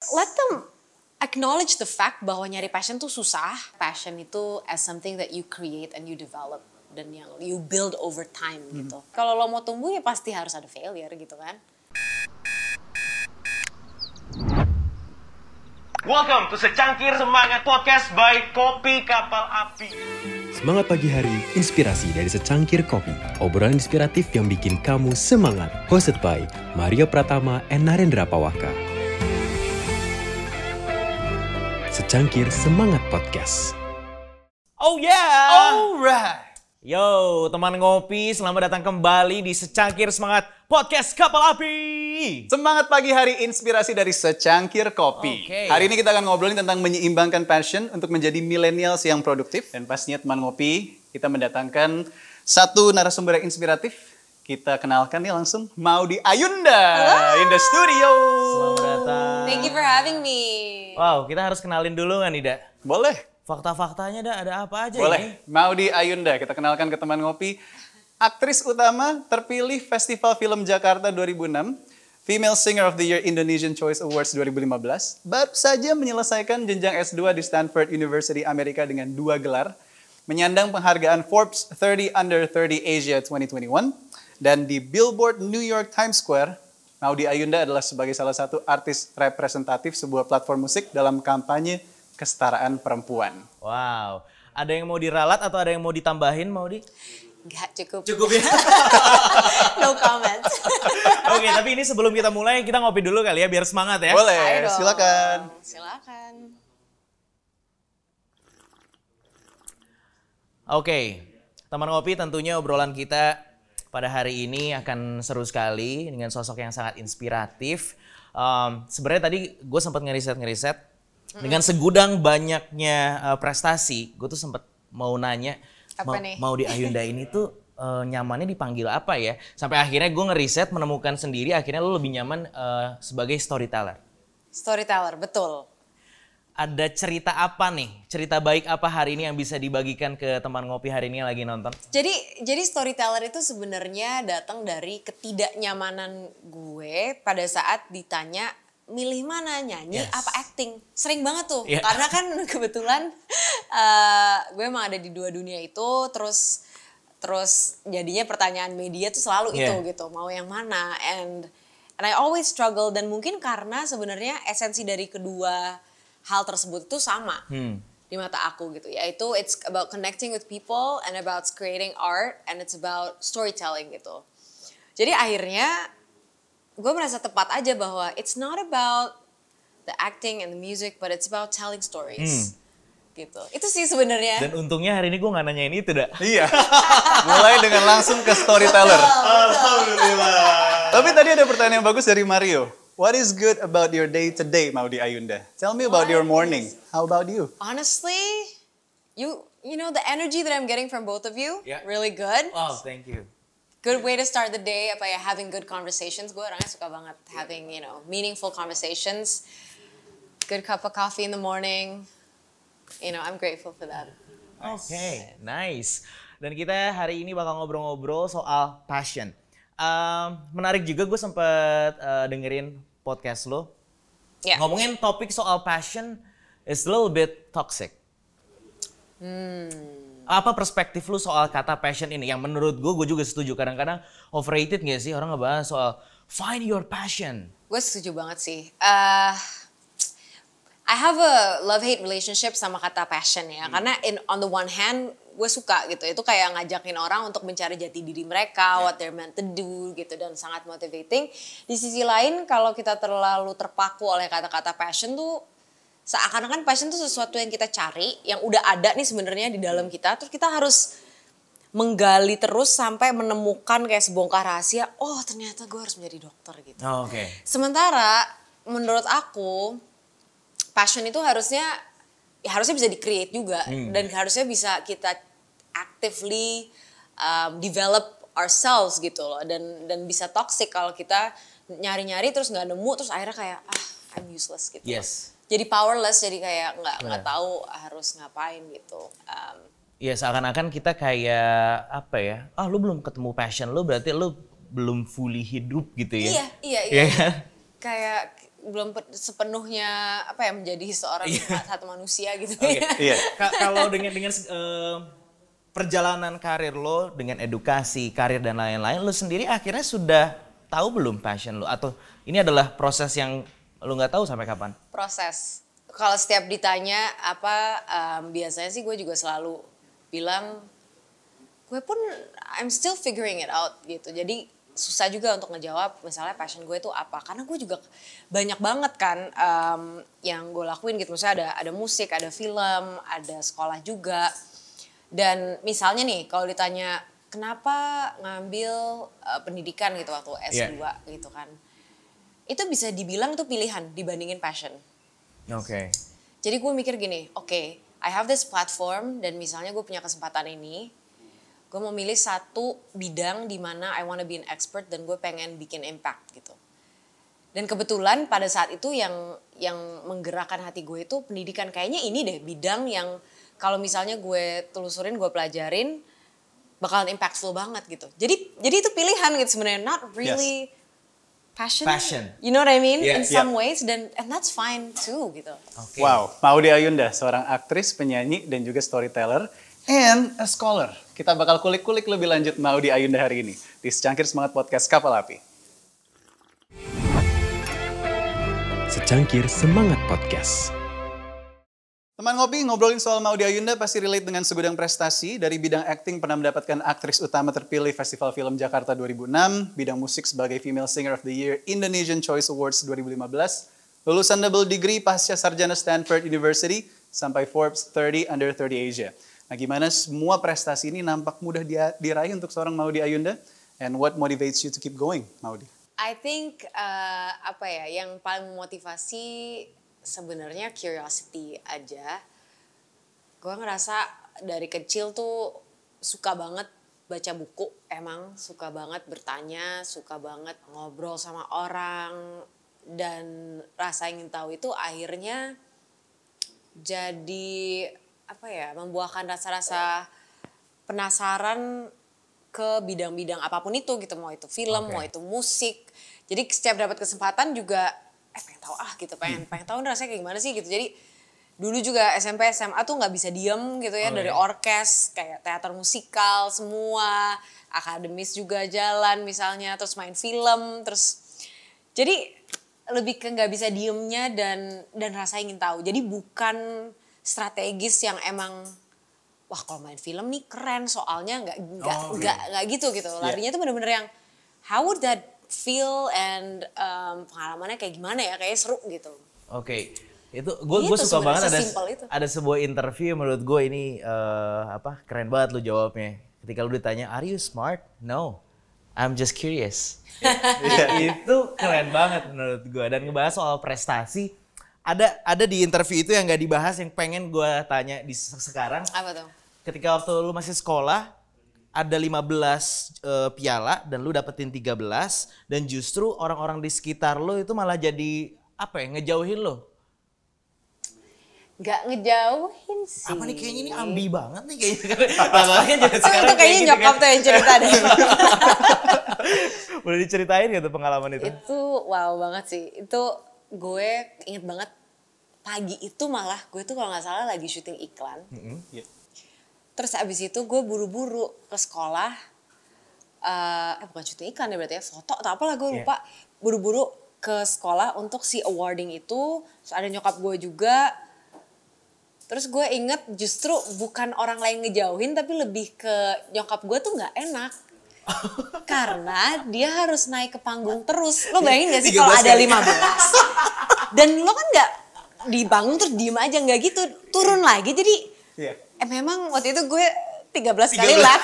let them acknowledge the fact bahwa nyari passion tuh susah. Passion itu as something that you create and you develop dan yang you build over time gitu. Kalau lo mau tumbuh ya pasti harus ada failure gitu kan. Welcome to Secangkir Semangat Podcast by Kopi Kapal Api. Semangat pagi hari, inspirasi dari secangkir kopi. Obrolan inspiratif yang bikin kamu semangat. Hosted by Mario Pratama and Narendra Pawaka. Secangkir Semangat Podcast. Oh yeah! Alright. Yo, teman ngopi, selamat datang kembali di Secangkir Semangat Podcast Kapal Api. Semangat pagi hari, inspirasi dari secangkir kopi. Oke. Hari ini kita akan ngobrolin tentang menyeimbangkan passion untuk menjadi millennials yang produktif. Dan pastinya teman ngopi, kita mendatangkan satu narasumber yang inspiratif. Kita kenalkan nih langsung Maudy Ayunda in the studio. Selamat datang. Thank you for having me. Wow, kita harus kenalin dulu nggak nih, Da? Boleh. Fakta-faktanya, Da, ada apa aja Boleh. ini? Maudy Ayunda, kita kenalkan ke teman ngopi. Aktris utama terpilih Festival Film Jakarta 2006. Female Singer of the Year Indonesian Choice Awards 2015. Baru saja menyelesaikan jenjang S2 di Stanford University Amerika dengan 2 gelar. Menyandang penghargaan Forbes 30 Under 30 Asia 2021. Dan di Billboard New York Times Square, Maudy Ayunda adalah sebagai salah satu artis representatif sebuah platform musik dalam kampanye kesetaraan perempuan. Wow, ada yang mau diralat atau ada yang mau ditambahin, Maudy? Enggak cukup. Cukup ya? No comment. Oke, tapi ini sebelum kita mulai, kita ngopi dulu kali ya, biar semangat ya. Boleh, Ayo dong. silakan. Silakan. Oke, teman ngopi, tentunya obrolan kita pada hari ini akan seru sekali dengan sosok yang sangat inspiratif. Sebenarnya tadi gue sempat ngeriset dengan segudang banyaknya prestasi, gue tuh sempat mau nanya, Apa nih? Maudy Ayunda ini tuh nyamannya dipanggil apa ya? Sampai akhirnya gue ngeriset, menemukan sendiri, akhirnya lo lebih nyaman sebagai storyteller. Storyteller, betul. Ada cerita apa nih? Cerita baik apa hari ini yang bisa dibagikan ke teman ngopi hari ini yang lagi nonton? Jadi storyteller itu sebenarnya datang dari ketidaknyamanan gue pada saat ditanya milih mana, nyanyi Yes. apa acting. Sering banget tuh, Yeah. karena kan kebetulan gue emang ada di dua dunia itu, terus jadinya pertanyaan media tuh selalu Yeah. itu gitu, mau yang mana. And I always struggle, dan mungkin karena sebenarnya esensi dari kedua hal tersebut itu sama di mata aku gitu, yaitu it's about connecting with people and about creating art and it's about storytelling gitu. Jadi akhirnya gue merasa tepat aja bahwa it's not about the acting and the music, but it's about telling stories. Gitu. Itu sih sebenarnya. Dan untungnya hari ini gue gak nanyain itu, Da. Iya, mulai dengan langsung ke storyteller. Alhamdulillah. Tapi tadi ada pertanyaan yang bagus dari Mario. What is good about your day today, Maudy Ayunda? Tell me about your morning. How about you? Honestly, you know the energy that I'm getting from both of you, Yeah. really good. Oh, thank you. Good way to start the day, apa ya, having good conversations. Gue orangnya suka banget having, meaningful conversations. Good cup of coffee in the morning. I'm grateful for that. Oke, nice. Dan kita hari ini bakal ngobrol-ngobrol soal passion. Menarik juga, gue sempet dengerin podcast lo. Ya. Ngomongin topik soal passion is a little bit toxic. Apa perspektif lu soal kata passion ini? Yang menurut gue juga setuju. Kadang-kadang overrated gak sih orang ngebahas soal find your passion? Gue setuju banget sih. I have a love-hate relationship sama kata passion ya. Karena on the one hand, gue suka gitu. Itu kayak ngajakin orang untuk mencari jati diri mereka, what they're meant to do gitu. Dan sangat motivating. Di sisi lain, kalau kita terlalu terpaku oleh kata-kata passion tuh, seakan-akan passion tuh sesuatu yang kita cari, yang udah ada nih sebenarnya di dalam kita. Terus kita harus menggali terus sampai menemukan kayak sebongkar rahasia. Oh, ternyata gue harus menjadi dokter gitu. Oh, oke. Sementara menurut aku passion itu harusnya bisa di-create juga dan harusnya bisa kita actively develop ourselves gitu loh, dan bisa toxic kalau kita nyari-nyari terus nggak nemu, terus akhirnya kayak I'm useless gitu. Yes. Jadi powerless, jadi kayak nggak tahu harus ngapain gitu. Ya seakan-akan kita kayak apa ya? Lu belum ketemu passion lu, berarti lu belum fully hidup gitu ya? Iya. Iya kan? Kayak sepenuhnya apa ya menjadi seorang satu manusia gitu. Iya. Kalau dengan perjalanan karir lo dengan edukasi, karir dan lain-lain, lo sendiri akhirnya sudah tahu belum passion lo atau ini adalah proses yang lo nggak tahu sampai kapan? Proses. Kalau setiap ditanya apa, biasanya sih gue juga selalu bilang, gue pun I'm still figuring it out gitu. Jadi susah juga untuk ngejawab misalnya passion gue itu apa. Karena gue juga banyak banget kan yang gue lakuin gitu. Misalnya ada musik, ada film, ada sekolah juga. Dan misalnya nih kalau ditanya kenapa ngambil pendidikan gitu waktu S2 gitu kan. Itu bisa dibilang tuh pilihan dibandingin passion. Oke. Jadi gue mikir gini, oke, I have this platform dan misalnya gue punya kesempatan ini, gue mau milih satu bidang di mana I wanna be an expert dan gue pengen bikin impact gitu. Dan kebetulan pada saat itu yang menggerakkan hati gue itu pendidikan. Kayaknya ini deh bidang yang kalau misalnya gue telusurin, gue pelajarin, bakalan impactful banget gitu. Jadi itu pilihan gitu sebenarnya, not really passion. You know what I mean? In some ways, and that's fine too gitu. Okay. Wow, Maudy Ayunda, seorang aktris, penyanyi, dan juga storyteller, and a scholar. Kita bakal kulik-kulik lebih lanjut Maudy Ayunda hari ini di Secangkir Semangat Podcast Kapal Api. Secangkir Semangat Podcast. Teman ngopi, ngobrolin soal Maudy Ayunda pasti relate dengan segudang prestasi. Dari bidang acting pernah mendapatkan aktris utama terpilih Festival Film Jakarta 2006, bidang musik sebagai Female Singer of the Year Indonesian Choice Awards 2015, lulusan double degree pasca sarjana Stanford University, sampai Forbes 30 Under 30 Asia. Nah, gimana semua prestasi ini nampak mudah diraih untuk seorang Maudy Ayunda? And what motivates you to keep going, Maudy? I think yang paling memotivasi sebenarnya curiosity aja. Gue ngerasa dari kecil tuh suka banget baca buku, emang suka banget bertanya, suka banget ngobrol sama orang, dan rasa ingin tahu itu akhirnya jadi membuahkan rasa-rasa penasaran ke bidang-bidang apapun itu gitu, mau itu film, mau itu musik. Jadi setiap dapat kesempatan juga pengen tahu gitu, pengen tahu rasanya kayak gimana sih gitu. Jadi dulu juga SMP SMA tuh nggak bisa diem gitu ya, dari orkes kayak teater musikal semua, akademis juga jalan misalnya, terus main film, terus jadi lebih ke nggak bisa diemnya dan rasa ingin tahu. Jadi bukan strategis yang emang wah kalau main film nih keren soalnya nggak gitu. Larinya tuh bener-bener yang how would that feel and pengalamannya kayak gimana ya, kayak seru gitu. Oke. Itu gue suka banget ada sebuah interview menurut gue ini keren banget lu jawabnya. Ketika lu ditanya, "Are you smart?" "No. I'm just curious." Itu keren banget menurut gue, dan ngebahas soal prestasi. Ada di interview itu yang gak dibahas yang pengen gue tanya di sekarang. Apa tuh? Ketika waktu lu masih sekolah, ada 15 piala dan lu dapetin 13, dan justru orang-orang di sekitar lu itu malah jadi ngejauhin lu. Gak ngejauhin sih. Apa nih, kayaknya ini ambi banget nih kayaknya. Itu kayaknya nyokap tuh yang cerita deh. Boleh diceritain gak tuh pengalaman itu? Itu wow banget sih. Itu gue inget banget pagi itu malah gue tuh kalau gak salah lagi syuting iklan. Terus abis itu gue buru-buru ke sekolah, bukan syuting iklan ya berarti ya, foto atau apalah gue lupa. Buru-buru ke sekolah untuk si awarding itu, terus ada nyokap gue juga. Terus gue inget justru bukan orang lain ngejauhin, tapi lebih ke nyokap gue tuh gak enak. Karena dia harus naik ke panggung terus. Lo bayangin gak sih kalau ada 15? Dan lo kan gak di panggung terus diem aja, gak gitu. Turun lagi, jadi memang waktu itu gue 13 kali lap.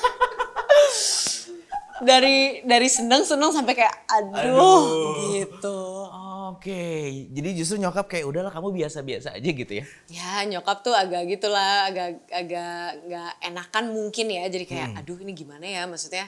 dari seneng sampai kayak aduh. Gitu. Oke, jadi justru nyokap kayak udahlah kamu biasa-biasa aja gitu ya? Ya nyokap tuh agak gitulah, agak gak enakan mungkin ya. Jadi kayak aduh ini gimana ya, maksudnya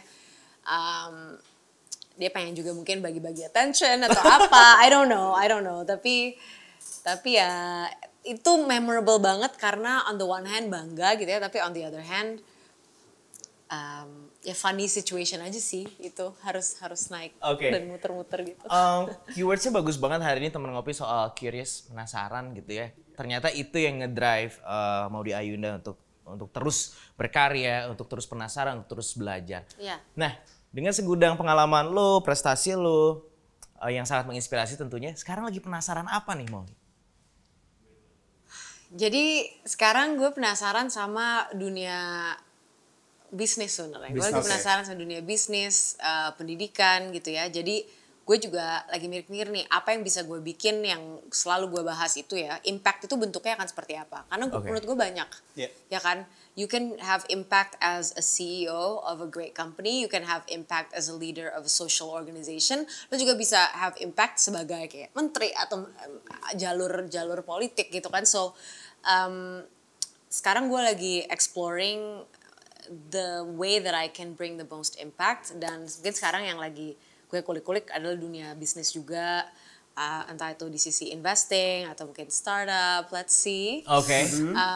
dia pengen juga mungkin bagi-bagi attention atau apa. I don't know. Tapi ya itu memorable banget karena on the one hand bangga gitu ya, tapi on the other hand ya funny situation aja sih itu harus naik Oke. dan muter-muter gitu. Keywordsnya bagus banget hari ini teman ngopi soal curious, penasaran gitu ya. Ternyata itu yang ngedrive Maudy Ayunda untuk terus berkarya, untuk terus penasaran, untuk terus belajar. Iya. Nah, dengan segudang pengalaman lo, prestasi lo yang sangat menginspirasi tentunya, sekarang lagi penasaran apa nih Maudy? Jadi sekarang gue penasaran sama dunia bisnis sebenarnya. Gue lagi Bisnis. penasaran sama dunia bisnis, pendidikan gitu ya. Jadi gue juga lagi mikir-mikir nih apa yang bisa gue bikin yang selalu gue bahas itu ya. Impact itu bentuknya akan seperti apa? Karena Oke. menurut gue banyak, Yeah. ya kan? You can have impact as a CEO of a great company. You can have impact as a leader of a social organization. Lo juga bisa have impact sebagai kayak menteri atau jalur politik gitu kan. So sekarang gue lagi exploring the way that I can bring the most impact, dan mungkin sekarang yang lagi gue kulik-kulik adalah dunia bisnis juga, entah itu di sisi investing atau mungkin startup, let's see. Oke.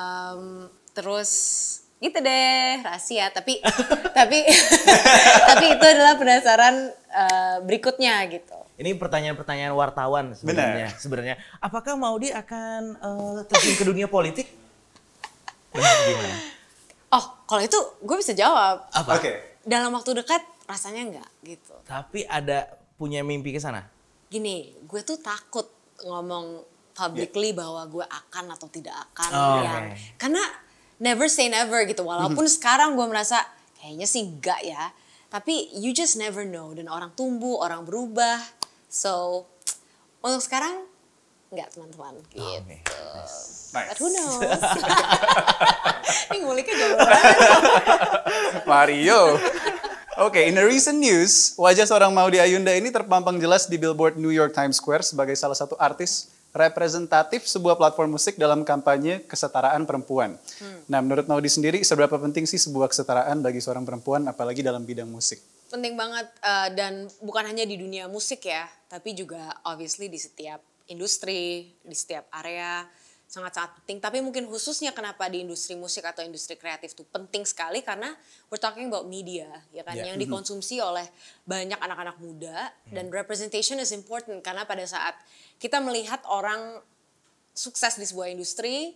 Terus gitu deh, rahasia, tapi tapi itu adalah penasaran berikutnya gitu. Ini pertanyaan-pertanyaan wartawan sebenarnya. Apakah Maudy akan terjun ke dunia politik? Gimana? Oh, kalau itu gue bisa jawab. Apa? Oke. Dalam waktu dekat rasanya enggak gitu. Tapi ada punya mimpi ke sana? Gini, gue tuh takut ngomong publicly bahwa gue akan atau tidak akan. Oh, yang, oke. karena never say never gitu. Walaupun sekarang gue merasa kayaknya sih enggak ya. Tapi you just never know. Dan orang tumbuh, orang berubah. So, untuk sekarang enggak teman-teman gitu. Oke. Nice. But who knows? Ini nguliknya jauh banget. Mario. Oke, in the recent news, wajah seorang Maudy Ayunda ini terpampang jelas di billboard New York Times Square sebagai salah satu artis representatif sebuah platform musik dalam kampanye kesetaraan perempuan. Nah, menurut Maudy sendiri, seberapa penting sih sebuah kesetaraan bagi seorang perempuan, apalagi dalam bidang musik? Penting banget, dan bukan hanya di dunia musik ya, tapi juga obviously di setiap industri, di setiap area, sangat-sangat penting. Tapi mungkin khususnya kenapa di industri musik atau industri kreatif itu penting sekali, karena we're talking about media, ya kan, yang dikonsumsi oleh banyak anak-anak muda, dan representation is important, karena pada saat kita melihat orang sukses di sebuah industri,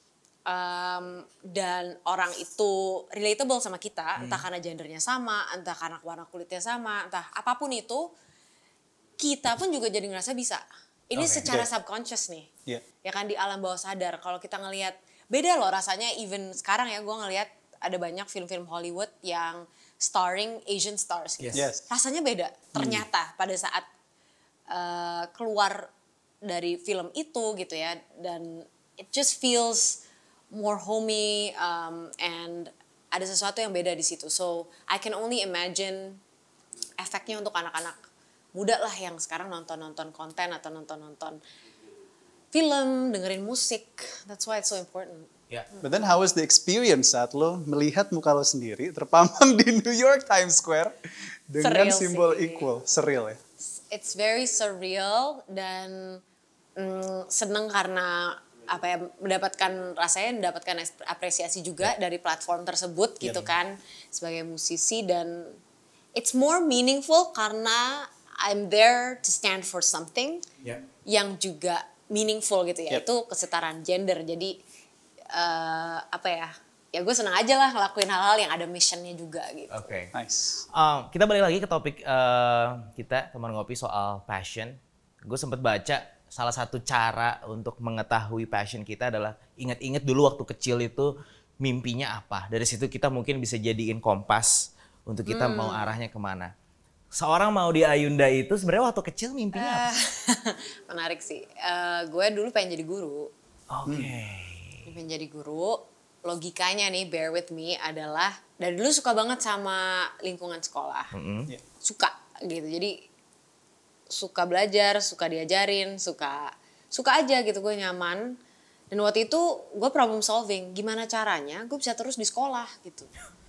dan orang itu relatable sama kita, entah karena gendernya sama, entah karena warna kulitnya sama, entah apapun itu, kita pun juga jadi ngerasa bisa. Ini Oke. secara subconscious nih, Iya. ya kan, di alam bawah sadar. Kalau kita ngelihat, beda loh rasanya, even sekarang ya gue ngelihat ada banyak film-film Hollywood yang starring Asian stars gitu. Yes. Rasanya beda, ternyata pada saat keluar dari film itu gitu ya, dan it just feels more homey, and ada sesuatu yang beda di situ. So I can only imagine efeknya untuk anak-anak muda lah yang sekarang nonton-nonton konten atau nonton-nonton film, dengerin musik. That's why it's so important. Ya. But then how was the experience saat lo melihat muka lo sendiri terpampang di New York Times Square dengan Surreal simbol sih. equal? Surreal ya? It's very surreal, dan seneng karena apa ya, mendapatkan apresiasi juga dari platform tersebut gitu kan, sebagai musisi. Dan it's more meaningful karena I'm there to stand for something Ya. yang juga meaningful gitu ya. Yep. Itu kesetaraan gender. Jadi apa ya, ya gue senang aja lah ngelakuin hal-hal yang ada missionnya juga gitu. Oke. Nice. Kita balik lagi ke topik kita teman ngopi soal passion. Gue sempat baca salah satu cara untuk mengetahui passion kita adalah ingat-ingat dulu waktu kecil itu mimpinya apa. Dari situ kita mungkin bisa jadiin kompas untuk kita mau arahnya kemana. Seorang Maudy Ayunda itu sebenarnya waktu kecil mimpinya apa? Menarik sih. Gue dulu pengen jadi guru. Oke. Pengen jadi guru. Logikanya nih, bear with me, adalah dari dulu suka banget sama lingkungan sekolah. Yeah. Suka gitu. Jadi suka belajar, suka diajarin, suka aja gitu, gue nyaman. Dan waktu itu gue problem solving, gimana caranya gue bisa terus di sekolah gitu.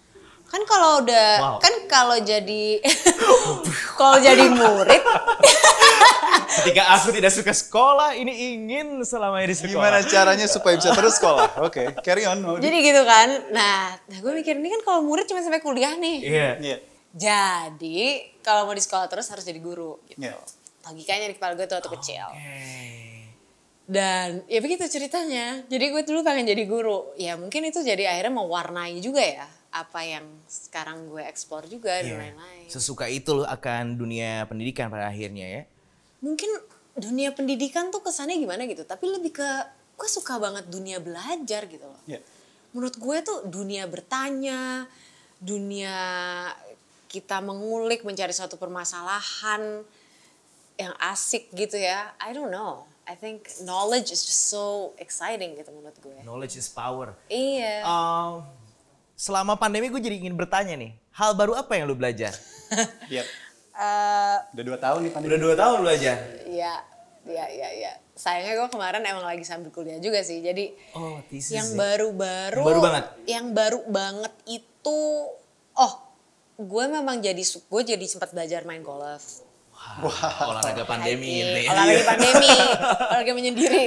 Kan kalau udah, Wow. kan kalau jadi, kalau jadi murid, Ketika aku tidak suka sekolah, ini ingin selamanya di sekolah. Gimana caranya supaya bisa terus sekolah? Oke, carry on. Maudi. jadi gitu kan. Nah gue mikir ini kan kalau murid cuma sampai kuliah nih. Iya. Iya. Jadi kalau mau di sekolah terus harus jadi guru. Gitu. Iya. Logikanya di kepala gue tuh waktu kecil. Oke. Dan ya begitu ceritanya. Jadi gue dulu pengen jadi guru. Ya mungkin itu jadi akhirnya mewarnai juga ya apa yang sekarang gue explore juga dan Iya. lain-lain. Sesuka itu loh akan dunia pendidikan pada akhirnya ya. Mungkin dunia pendidikan tuh kesannya gimana gitu. Tapi lebih ke gue suka banget dunia belajar gitu loh. Iya. Menurut gue tuh dunia bertanya, dunia kita mengulik, mencari suatu permasalahan yang asik gitu ya. I don't know. I think knowledge is just so exciting gitu menurut gue. Knowledge is power. Iya. Selama pandemi gue jadi ingin bertanya nih, hal baru apa yang lu belajar? Iya. Eh, Udah 2 tahun nih pandemi. Udah 2 tahun belajar. Iya. Sayangnya gue kemarin emang lagi sambil kuliah juga sih. Jadi Oh, thesis yang ya. baru-baru, Baru banget? Yang baru banget itu, gue memang gue jadi sempat belajar main golf. Wah, olahraga pandemi Hiking, ini. olahraga pandemi, olahraga menyendiri.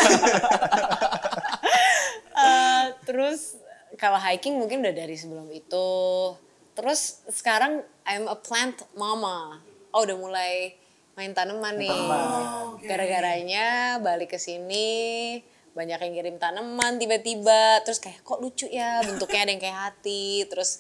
Terus kalau hiking mungkin udah dari sebelum itu. Terus sekarang I'm a plant mama. Udah mulai main tanaman nih. Gara-garanya balik ke sini banyak yang kirim tanaman tiba-tiba. Terus kayak kok lucu ya bentuknya ada yang kayak hati. Terus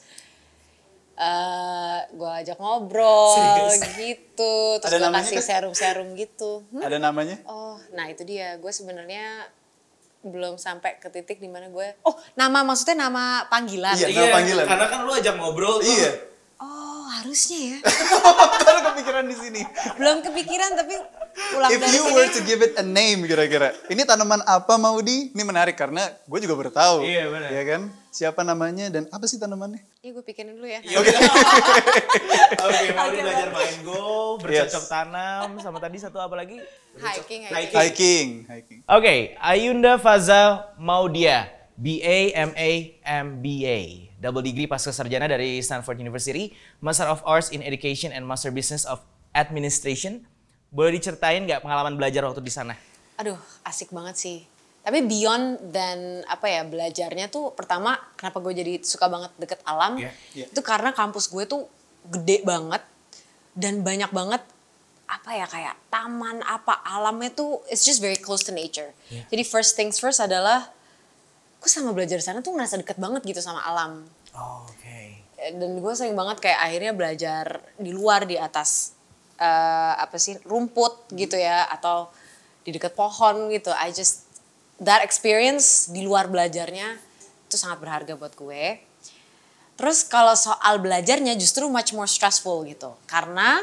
gue ajak ngobrol gitu. Terus Ada gue namanya kasih kan? serum-serum gitu. Ada namanya? Oh, nah itu dia. Gue sebenarnya belum sampai ke titik dimana gue. Maksudnya nama panggilan. Iya. Nama panggilan. Karena kan lu ajak ngobrol tuh. Iya. Oh, harusnya ya. Karena kepikiran di sini. Belum kepikiran tapi pulang If dari you sini. were to give it a name kira-kira. Ini tanaman apa Maudi? Ini menarik karena gue juga baru tahu. Iya, benar. Iya kan? Siapa namanya dan apa sih tanamannya? Iya, gue pikirin dulu ya. Oke, mau belajar main golf, bercocok Yes. tanam, sama tadi satu apa lagi? Hiking. Hiking. Oke, Ayunda Faza Maudia, BA, MA, MBA. Double degree pasca sarjana dari Stanford University, Master of Arts in Education and Master Business of Administration. Boleh diceritain nggak pengalaman belajar waktu di sana? Aduh, asik banget sih. Tapi beyond dan belajarnya tuh pertama kenapa gue jadi suka banget deket alam, Iya, iya. itu karena kampus gue tuh gede banget dan banyak banget kayak taman alamnya tuh it's just very close to nature. Iya. Jadi first things first adalah gue sama belajar di sana tuh ngerasa deket banget gitu sama alam. Oh, oke. Dan gue sering banget kayak akhirnya belajar di luar di atas rumput gitu ya atau di dekat pohon gitu. That experience di luar belajarnya itu sangat berharga buat gue. Terus kalau soal belajarnya justru much more stressful gitu. Karena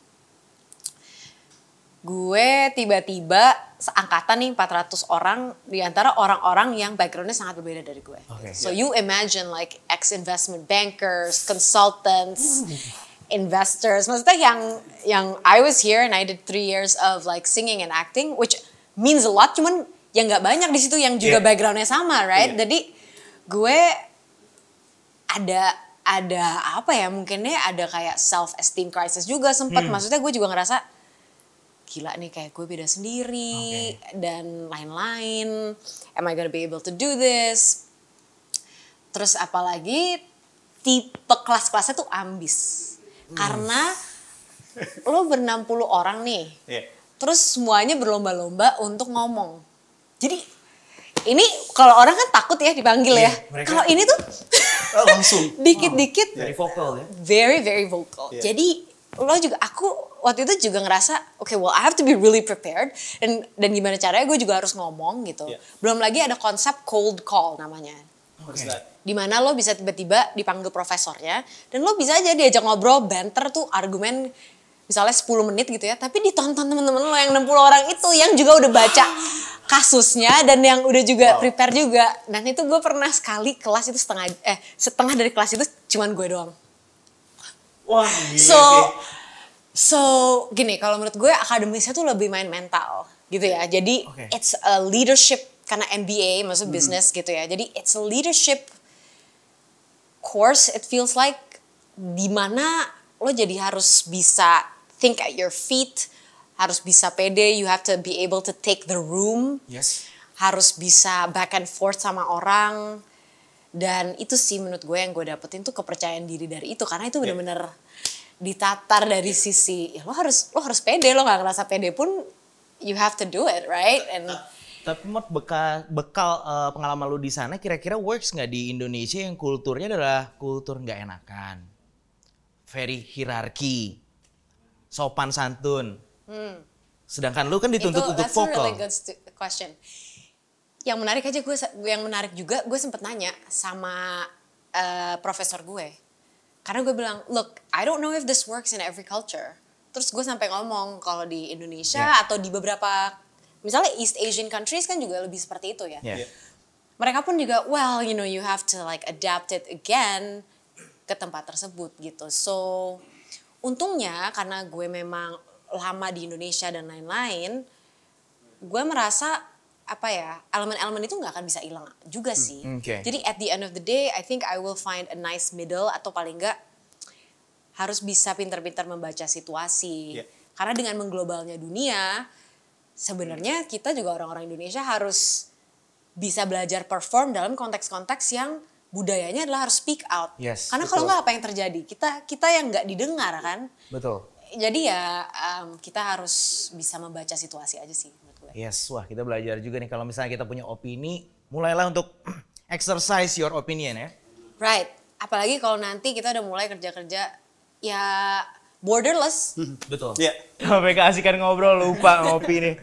gue tiba-tiba seangkatan nih 400 orang di antara orang-orang yang backgroundnya sangat berbeda dari gue. Okay. So you imagine like ex-investment bankers, consultants, investors. Maksudnya yang I was here and I did 3 years of like singing and acting, which means a lot. Cuman yang nggak banyak di situ yang juga Yeah. backgroundnya sama, right? Yeah. Jadi gue ada mungkinnya ada kayak self esteem crisis juga sempat. Maksudnya gue juga ngerasa gila nih kayak gue beda sendiri dan lain-lain. Am I gonna be able to do this? Terus apalagi tipe kelas-kelasnya tuh ambis. Karena lo ber-60 orang nih. Iya. Terus semuanya berlomba-lomba untuk ngomong. Jadi ini kalau orang kan takut ya dipanggil ya. mereka- Kalau ini tuh Langsung. dikit-dikit Dari vokal ya? very very vocal. Yeah. Jadi aku waktu itu juga ngerasa okay, well I have to be really prepared dan gimana caranya gue juga harus ngomong gitu. Yeah. Belum lagi ada konsep cold call namanya. What's that? Dimana lo bisa tiba-tiba dipanggil profesornya dan lo bisa aja diajak ngobrol, banter tuh argumen misalnya 10 menit gitu ya, tapi ditonton temen-temen lo yang 60 orang itu yang juga udah baca kasusnya dan yang udah juga prepare juga. Dan itu gue pernah sekali kelas itu setengah dari kelas itu cuman gue doang. Wah, gila So sih. gini, kalau menurut gue akademisnya tuh lebih main mental gitu ya. Jadi Oke. it's a leadership karena MBA maksud business gitu ya. Jadi it's a leadership course it feels like dimana lo jadi harus bisa think at your feet, harus bisa pede, you have to be able to take the room, Yes. harus bisa back and forth sama orang. Dan itu sih menurut gue yang gue dapetin tuh kepercayaan diri dari itu, karena itu bener-bener ditatar dari sisi ya lo harus pede, lo nggak ngerasa pede pun you have to do it, right? And Tapi Mot, bekal pengalaman lu di sana kira-kira works nggak di Indonesia yang kulturnya adalah kultur nggak enakan, very hierarki, sopan santun. Sedangkan lu kan dituntut untuk that's a vokal. really good question. Yang menarik juga gue sempet nanya sama profesor gue. Karena gue bilang, look, I don't know if this works in every culture. Terus gue sampai ngomong kalau di Indonesia atau di beberapa, misalnya East Asian countries kan juga lebih seperti itu ya. Yeah. Mereka pun juga, well, you know, you have to like adapt it again ke tempat tersebut gitu. So, untungnya karena gue memang lama di Indonesia dan lain-lain, gue merasa apa ya, elemen-elemen itu nggak akan bisa hilang juga sih. Okay. Jadi at the end of the day, I think I will find a nice middle, atau paling nggak harus bisa pintar-pintar membaca situasi. Yeah. Karena dengan mengglobalnya dunia, sebenarnya kita juga orang-orang Indonesia harus bisa belajar perform dalam konteks-konteks yang budayanya adalah harus speak out. Yes, Karena kalau nggak apa yang terjadi? Kita yang nggak didengar kan. Betul. Jadi ya kita harus bisa membaca situasi aja sih menurut gue. Yes, wah kita belajar juga nih kalau misalnya kita punya opini, mulailah untuk exercise your opinion ya. Right. Apalagi kalau nanti kita udah mulai kerja-kerja ya borderless. Betul. Iya. Sampai keasikan ngobrol lupa ngopi nih.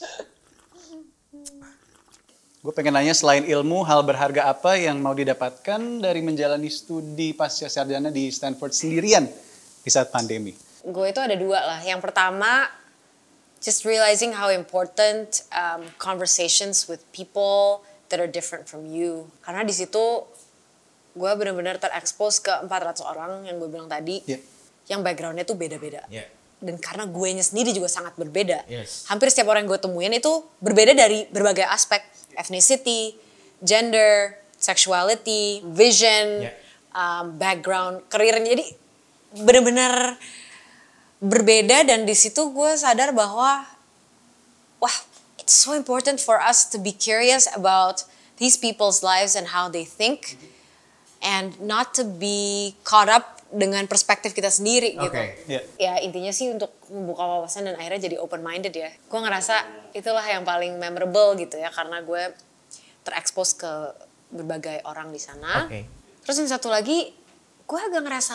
Gue pengen nanya, selain ilmu, hal berharga apa yang mau didapatkan dari menjalani studi pasca sarjana di Stanford sendirian di saat pandemi? Gue itu ada dua lah. Yang pertama, just realizing how important conversations with people that are different from you. Karena di situ gue benar-benar terekspos ke 400 orang yang gue bilang tadi, yang backgroundnya tuh beda-beda. Yeah. Dan karena guenya sendiri juga sangat berbeda. Yes. Hampir setiap orang yang gue temuin itu berbeda dari berbagai aspek. Ethnicity, gender, sexuality, vision, background, karirnya. Jadi benar-benar berbeda, dan di situ gue sadar bahwa wah, it's so important for us to be curious about these people's lives and how they think, and not to be caught up dengan perspektif kita sendiri gitu. Yeah. Ya intinya sih untuk membuka wawasan dan akhirnya jadi open minded ya. Gue ngerasa itulah yang paling memorable gitu ya, karena gue terekspos ke berbagai orang di sana. Okay. Terus yang satu lagi, gue agak ngerasa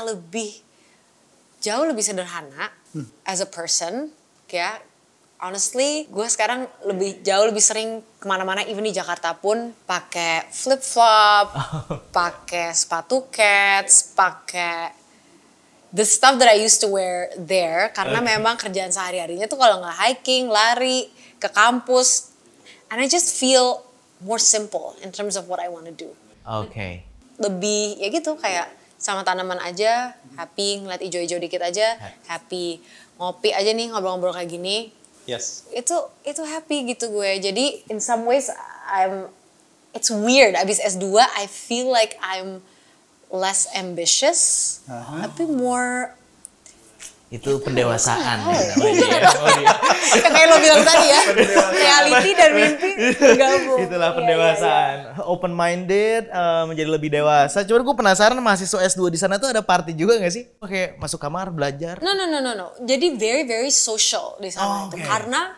jauh lebih sederhana as a person, ya. Honestly, gue sekarang jauh lebih sering kemana-mana, even di Jakarta pun pakai flip flop, pakai sepatu cats, pakai the stuff that I used to wear there, karena memang kerjaan sehari-harinya tuh kalau nggak hiking, lari ke kampus, and I just feel more simple in terms of what I want to do. Okay. Lebih ya gitu, kayak sama tanaman aja, happy, ngeliat ijo-ijo dikit aja, happy, ngopi aja nih, ngobrol-ngobrol kayak gini, Yes. itu happy gitu gue. Jadi in some ways it's weird, abis S2 I feel like I'm less ambitious, tapi more Itu pendewasaan. kayak lo bilang tadi ya, reality dan mimpi gabung. Itulah Iya, pendewasaan. Open minded, menjadi lebih dewasa. Cuman gue penasaran, mahasiswa S2 di sana tuh ada party juga gak sih? Oke, masuk kamar belajar. No. Jadi very social di sana itu. Okay. Karena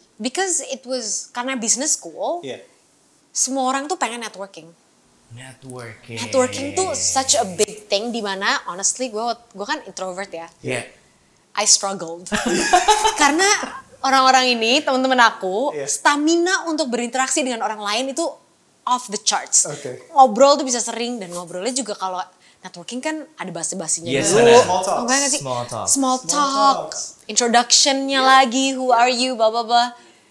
karena business school, Yeah. semua orang tuh pengen networking. Networking. Networking tuh such a big thing, di mana honestly gue kan introvert ya. Yeah. I struggled. Karena orang-orang ini, teman-teman aku, stamina untuk berinteraksi dengan orang lain itu off the charts. Okay. Ngobrol tuh bisa sering, dan ngobrolnya juga kalau networking kan ada basa-basinya Yes, dulu. ada. Small talks. Enggak nggak sih? Small talk. Introduction-nya lagi, who are you, blah blah blah.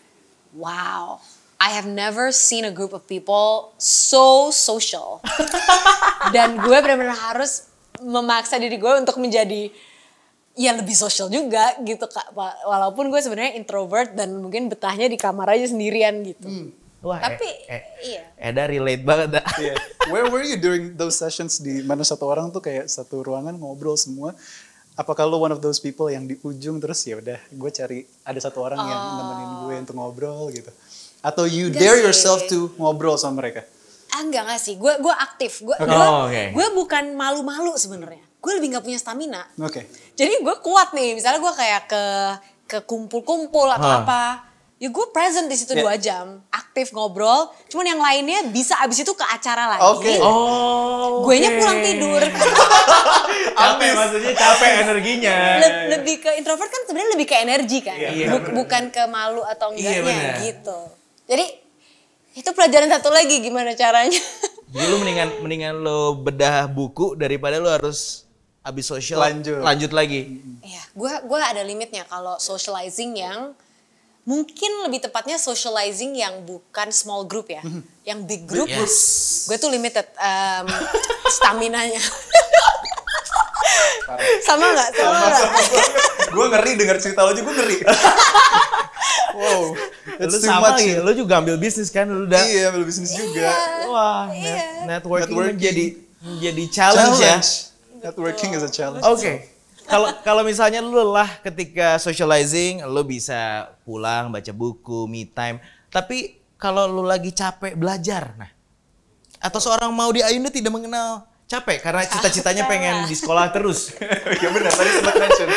Wow. I have never seen a group of people so social. Dan gue benar-benar harus memaksa diri gue untuk menjadi ya lebih social juga gitu Kak. Walaupun gue sebenarnya introvert dan mungkin betahnya di kamar aja sendirian gitu. Wah, Tapi iya. Eda relate banget dah. Yeah. Where were you during those sessions di mana satu orang tuh kayak satu ruangan ngobrol semua? Apakah lo one of those people yang di ujung terus ya udah gue cari ada satu orang yang nemenin gue untuk ngobrol gitu? Atau you Enggak dare sih. yourself to ngobrol sama mereka? Enggak sih. Gue aktif. Gue Okay. gue bukan malu-malu sebenarnya. Gue lebih nggak punya stamina. Oke. Jadi gue kuat nih. Misalnya gue kayak ke kumpul-kumpul atau apa. Ya gue present di situ 2 jam, aktif ngobrol. Cuman yang lainnya bisa abis itu ke acara lagi. Oke. Oh. Guenya pulang tidur. Capek maksudnya capek energinya. Lebih ke introvert kan sebenarnya lebih ke energi kan. Iya, Bukan ke malu atau Iya, enggaknya benar. gitu. Jadi itu pelajaran satu lagi gimana caranya. Jadi lu mendingan lo bedah buku daripada lu harus abis sosial lanjut lagi. Iya, gue ada limitnya kalau socializing yang mungkin lebih tepatnya socializing yang bukan small group ya, yang big group. Yes. Gue tuh limited stamina-nya. Sama nggak? Gue ngeri dengar cerita lo aja gue ngeri. Wow, Lu it's too sama much. gitu, lu juga ambil bisnis kan lu udah. Iya, ambil bisnis juga. Wah, networking menjadi challenge ya. Networking is a challenge. Oke. Kalau misalnya lu lelah ketika socializing, lu bisa pulang baca buku, me time. Tapi kalau lu lagi capek belajar, nah, atau seorang Maudy Ayunda tidak mengenal capek karena cita-citanya pengen di sekolah terus. Ya benar, tadi sempat mention.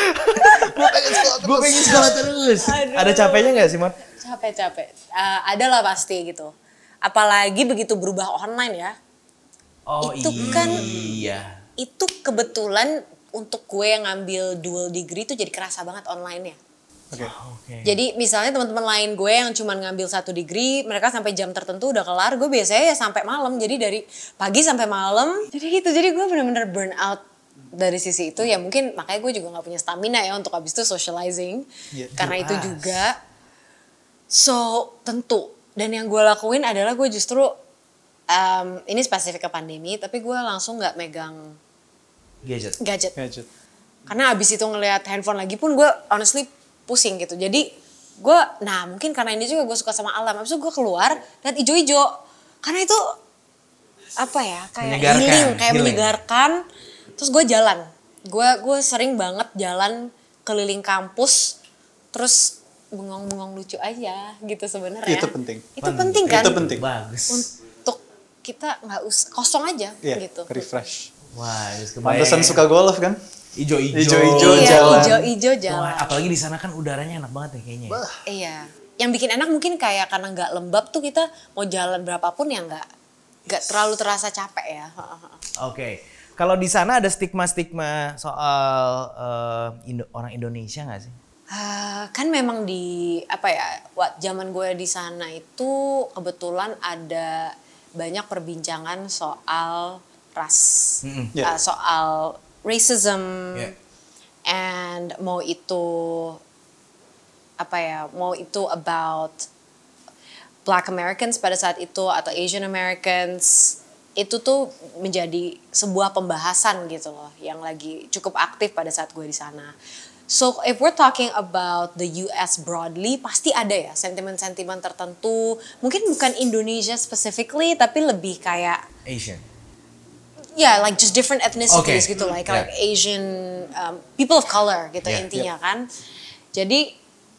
Gue pengen sekolah terus. Ada capeknya nggak sih, Mon? Capek. Ada lah pasti gitu. Apalagi begitu berubah online ya. Oh Itu kan- iya. Itu kebetulan untuk gue yang ngambil dual degree itu jadi kerasa banget online-nya. Oke. Oke. Jadi misalnya teman-teman lain gue yang cuma ngambil 1 degree, mereka sampai jam tertentu udah kelar, gue biasanya ya sampai malam. Jadi dari pagi sampai malam. Jadi gitu, jadi gue bener-bener burn out dari sisi itu. Ya mungkin makanya gue juga gak punya stamina ya untuk abis itu socializing. Iya, Karena itu jelas. juga. So tentu. Dan yang gue lakuin adalah gue justru, ini spesifik ke pandemi, tapi gue langsung gak megang Gadget. gadget. Karena abis itu ngelihat handphone lagi pun gue honestly pusing gitu. Jadi gue, nah mungkin karena ini juga gue suka sama alam. Abis itu gue keluar dan ijo-ijo. Karena itu apa ya, kayak Menyegarkan, healing, kayak healing. menyegarkan. Terus gue jalan. Gue sering banget jalan keliling kampus. Terus bengong-bengong lucu aja gitu sebenarnya. Itu penting. Itu penting kan? Itu penting. Bagus. Untuk kita nggak usah kosong aja Iya, gitu. refresh. Wah, kebayang. Pantesan suka golf kan? Ijo-ijo. Ijo-ijo Iya, jalan. ijo-ijo jalan. Wah, apalagi di sana kan udaranya enak banget ya kayaknya. Iya, yang bikin enak mungkin kayak karena nggak lembab tuh kita mau jalan berapapun ya nggak terlalu terasa capek ya. Oke. Kalau di sana ada stigma-stigma soal orang Indonesia nggak sih? Kan memang di apa ya, zaman gue di sana itu kebetulan ada banyak perbincangan soal ras, Yeah. soal racism, Yeah. and mau itu apa ya, mau itu about Black Americans pada saat itu atau Asian Americans, itu tuh menjadi sebuah pembahasan gitu loh yang lagi cukup aktif pada saat gue di sana. So if we're talking about the US broadly, pasti ada ya sentimen-sentimen tertentu. Mungkin bukan Indonesia specifically, tapi lebih kayak Asian. yeah, like just different ethnicities Okay. gitu, like Yeah. like Asian people of color gitu Yeah. intinya kan. Jadi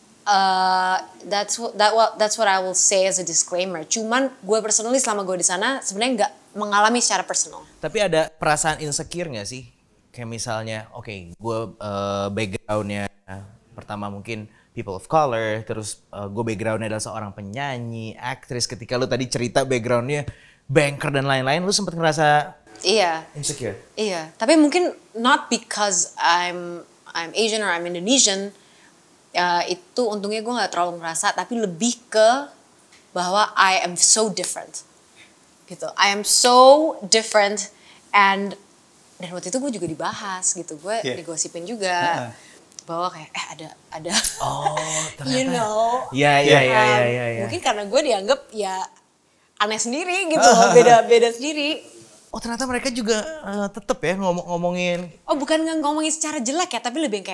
that's what I will say as a disclaimer. Cuman gue personally selama gue di sana sebenarnya nggak mengalami secara personal. Tapi ada perasaan insecure nggak sih? Kayak misalnya, oke, gue backgroundnya pertama mungkin people of color, terus gue backgroundnya adalah seorang penyanyi, aktris. Ketika lu tadi cerita backgroundnya banker dan lain-lain, lu sempet ngerasa Iya. insecure? Iya, tapi mungkin not because I'm Asian or I'm Indonesian, itu untungnya gue nggak terlalu ngerasa, tapi lebih ke bahwa I am so different, gitu. I am so different, dan waktu itu gue juga dibahas gitu, gue Yeah. digosipin juga bahwa kayak ada, Oh, ternyata. you know, Iya. mungkin karena gue dianggap ya aneh sendiri gitu loh, beda sendiri. Oh, ternyata mereka juga tetep ya ngomongin. Oh bukan ngomongin secara jelek ya, tapi lebih yang kayak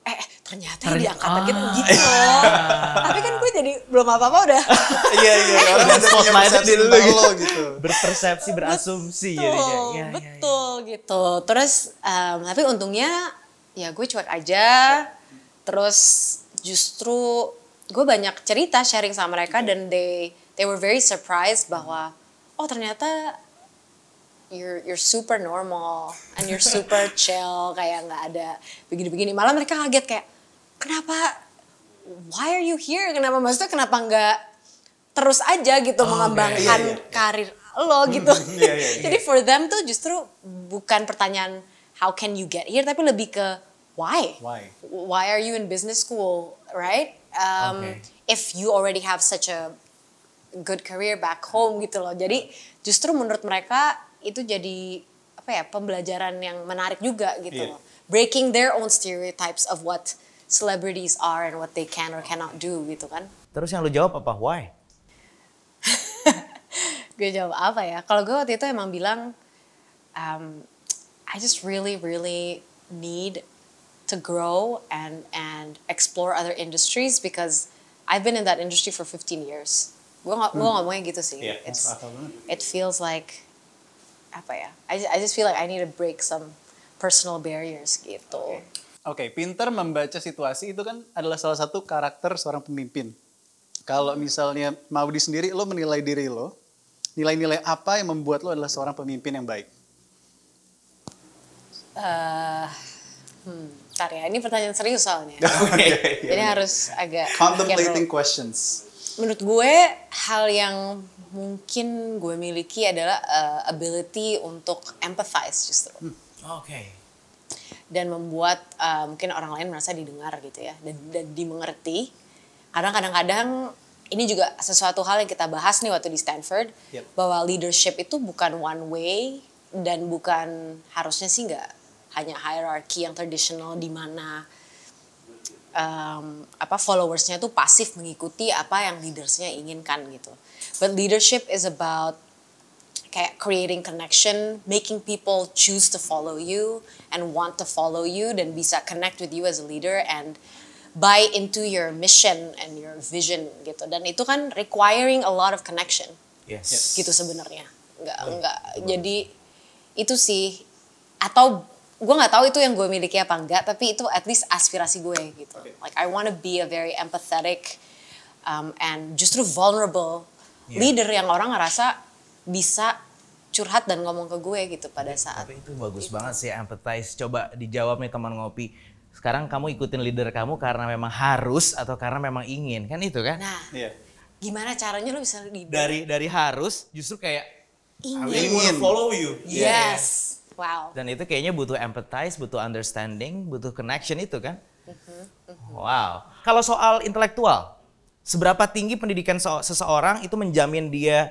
ternyata yang di angkatan kita gitu loh. Tapi kan gue jadi belum apa-apa udah. Iya, orang udah punya Spotlightnya persepsi di lu tentang gitu. lo gitu. Berpersepsi, berasumsi jadinya. Iya. Betul gitu. Terus tapi untungnya ya gue cuek aja. Terus justru gue banyak cerita sharing sama mereka dan they were very surprised bahwa ternyata you're super normal and you're super chill, kayak nggak ada begini-begini. Malah mereka kaget kayak kenapa, why are you here? Kenapa, maksudnya kenapa nggak terus aja gitu mengembangkan karir lo gitu. Jadi for them tuh justru bukan pertanyaan how can you get here, tapi lebih ke why? Why are you in business school, right? If you already have such a good career back home gitu loh. Jadi justru menurut mereka itu jadi pembelajaran yang menarik juga gitu loh. Breaking their own stereotypes of what celebrities are and what they can or cannot do gitu kan. Terus yang lu jawab apa? Why? Gue jawab apa ya? Kalau gue waktu itu emang bilang, I just really need to grow and explore other industries because I've been in that industry for 15 years. Gue ngomongnya gitu sih. It feels like I just feel like I need to break some personal barriers gitu. Oke, pintar membaca situasi itu kan adalah salah satu karakter seorang pemimpin. Kalau misalnya Maudy sendiri, lo menilai diri lo, nilai-nilai apa yang membuat lo adalah seorang pemimpin yang baik? Ntar ya, ini pertanyaan serius soalnya. Jadi harus agak Contemplating questions. Menurut gue, hal yang mungkin gue miliki adalah ability untuk empathize justru. Dan membuat mungkin orang lain merasa didengar gitu ya, dan dimengerti. Karena kadang-kadang ini juga sesuatu hal yang kita bahas nih waktu di Stanford, bahwa leadership itu bukan one way dan bukan, harusnya sih nggak hanya hierarchy yang tradisional di mana followersnya tuh pasif mengikuti apa yang leadersnya inginkan gitu. But leadership is about kayak creating connection, making people choose to follow you and want to follow you dan bisa connect with you as a leader and buy into your mission and your vision gitu. Dan itu kan requiring a lot of connection. Gitu sebenarnya. Enggak. Jadi itu sih, atau gue nggak tahu itu yang gue miliki apa enggak, tapi itu at least aspirasi gue gitu. Like I want to be a very empathetic and justru vulnerable leader yang orang ngerasa bisa curhat dan ngomong ke gue gitu pada saat. Tapi itu bagus banget sih, empathize. Coba dijawab nih teman ngopi. Sekarang kamu ikutin leader kamu karena memang harus atau karena memang ingin, kan itu kan? Nah, gimana caranya lo bisa leader? Dari harus justru kayak ingin. Follow you. Yes. Wow. Dan itu kayaknya butuh empathize, butuh understanding, butuh connection itu kan? Wow. Kalau soal intelektual, seberapa tinggi pendidikan seseorang itu menjamin dia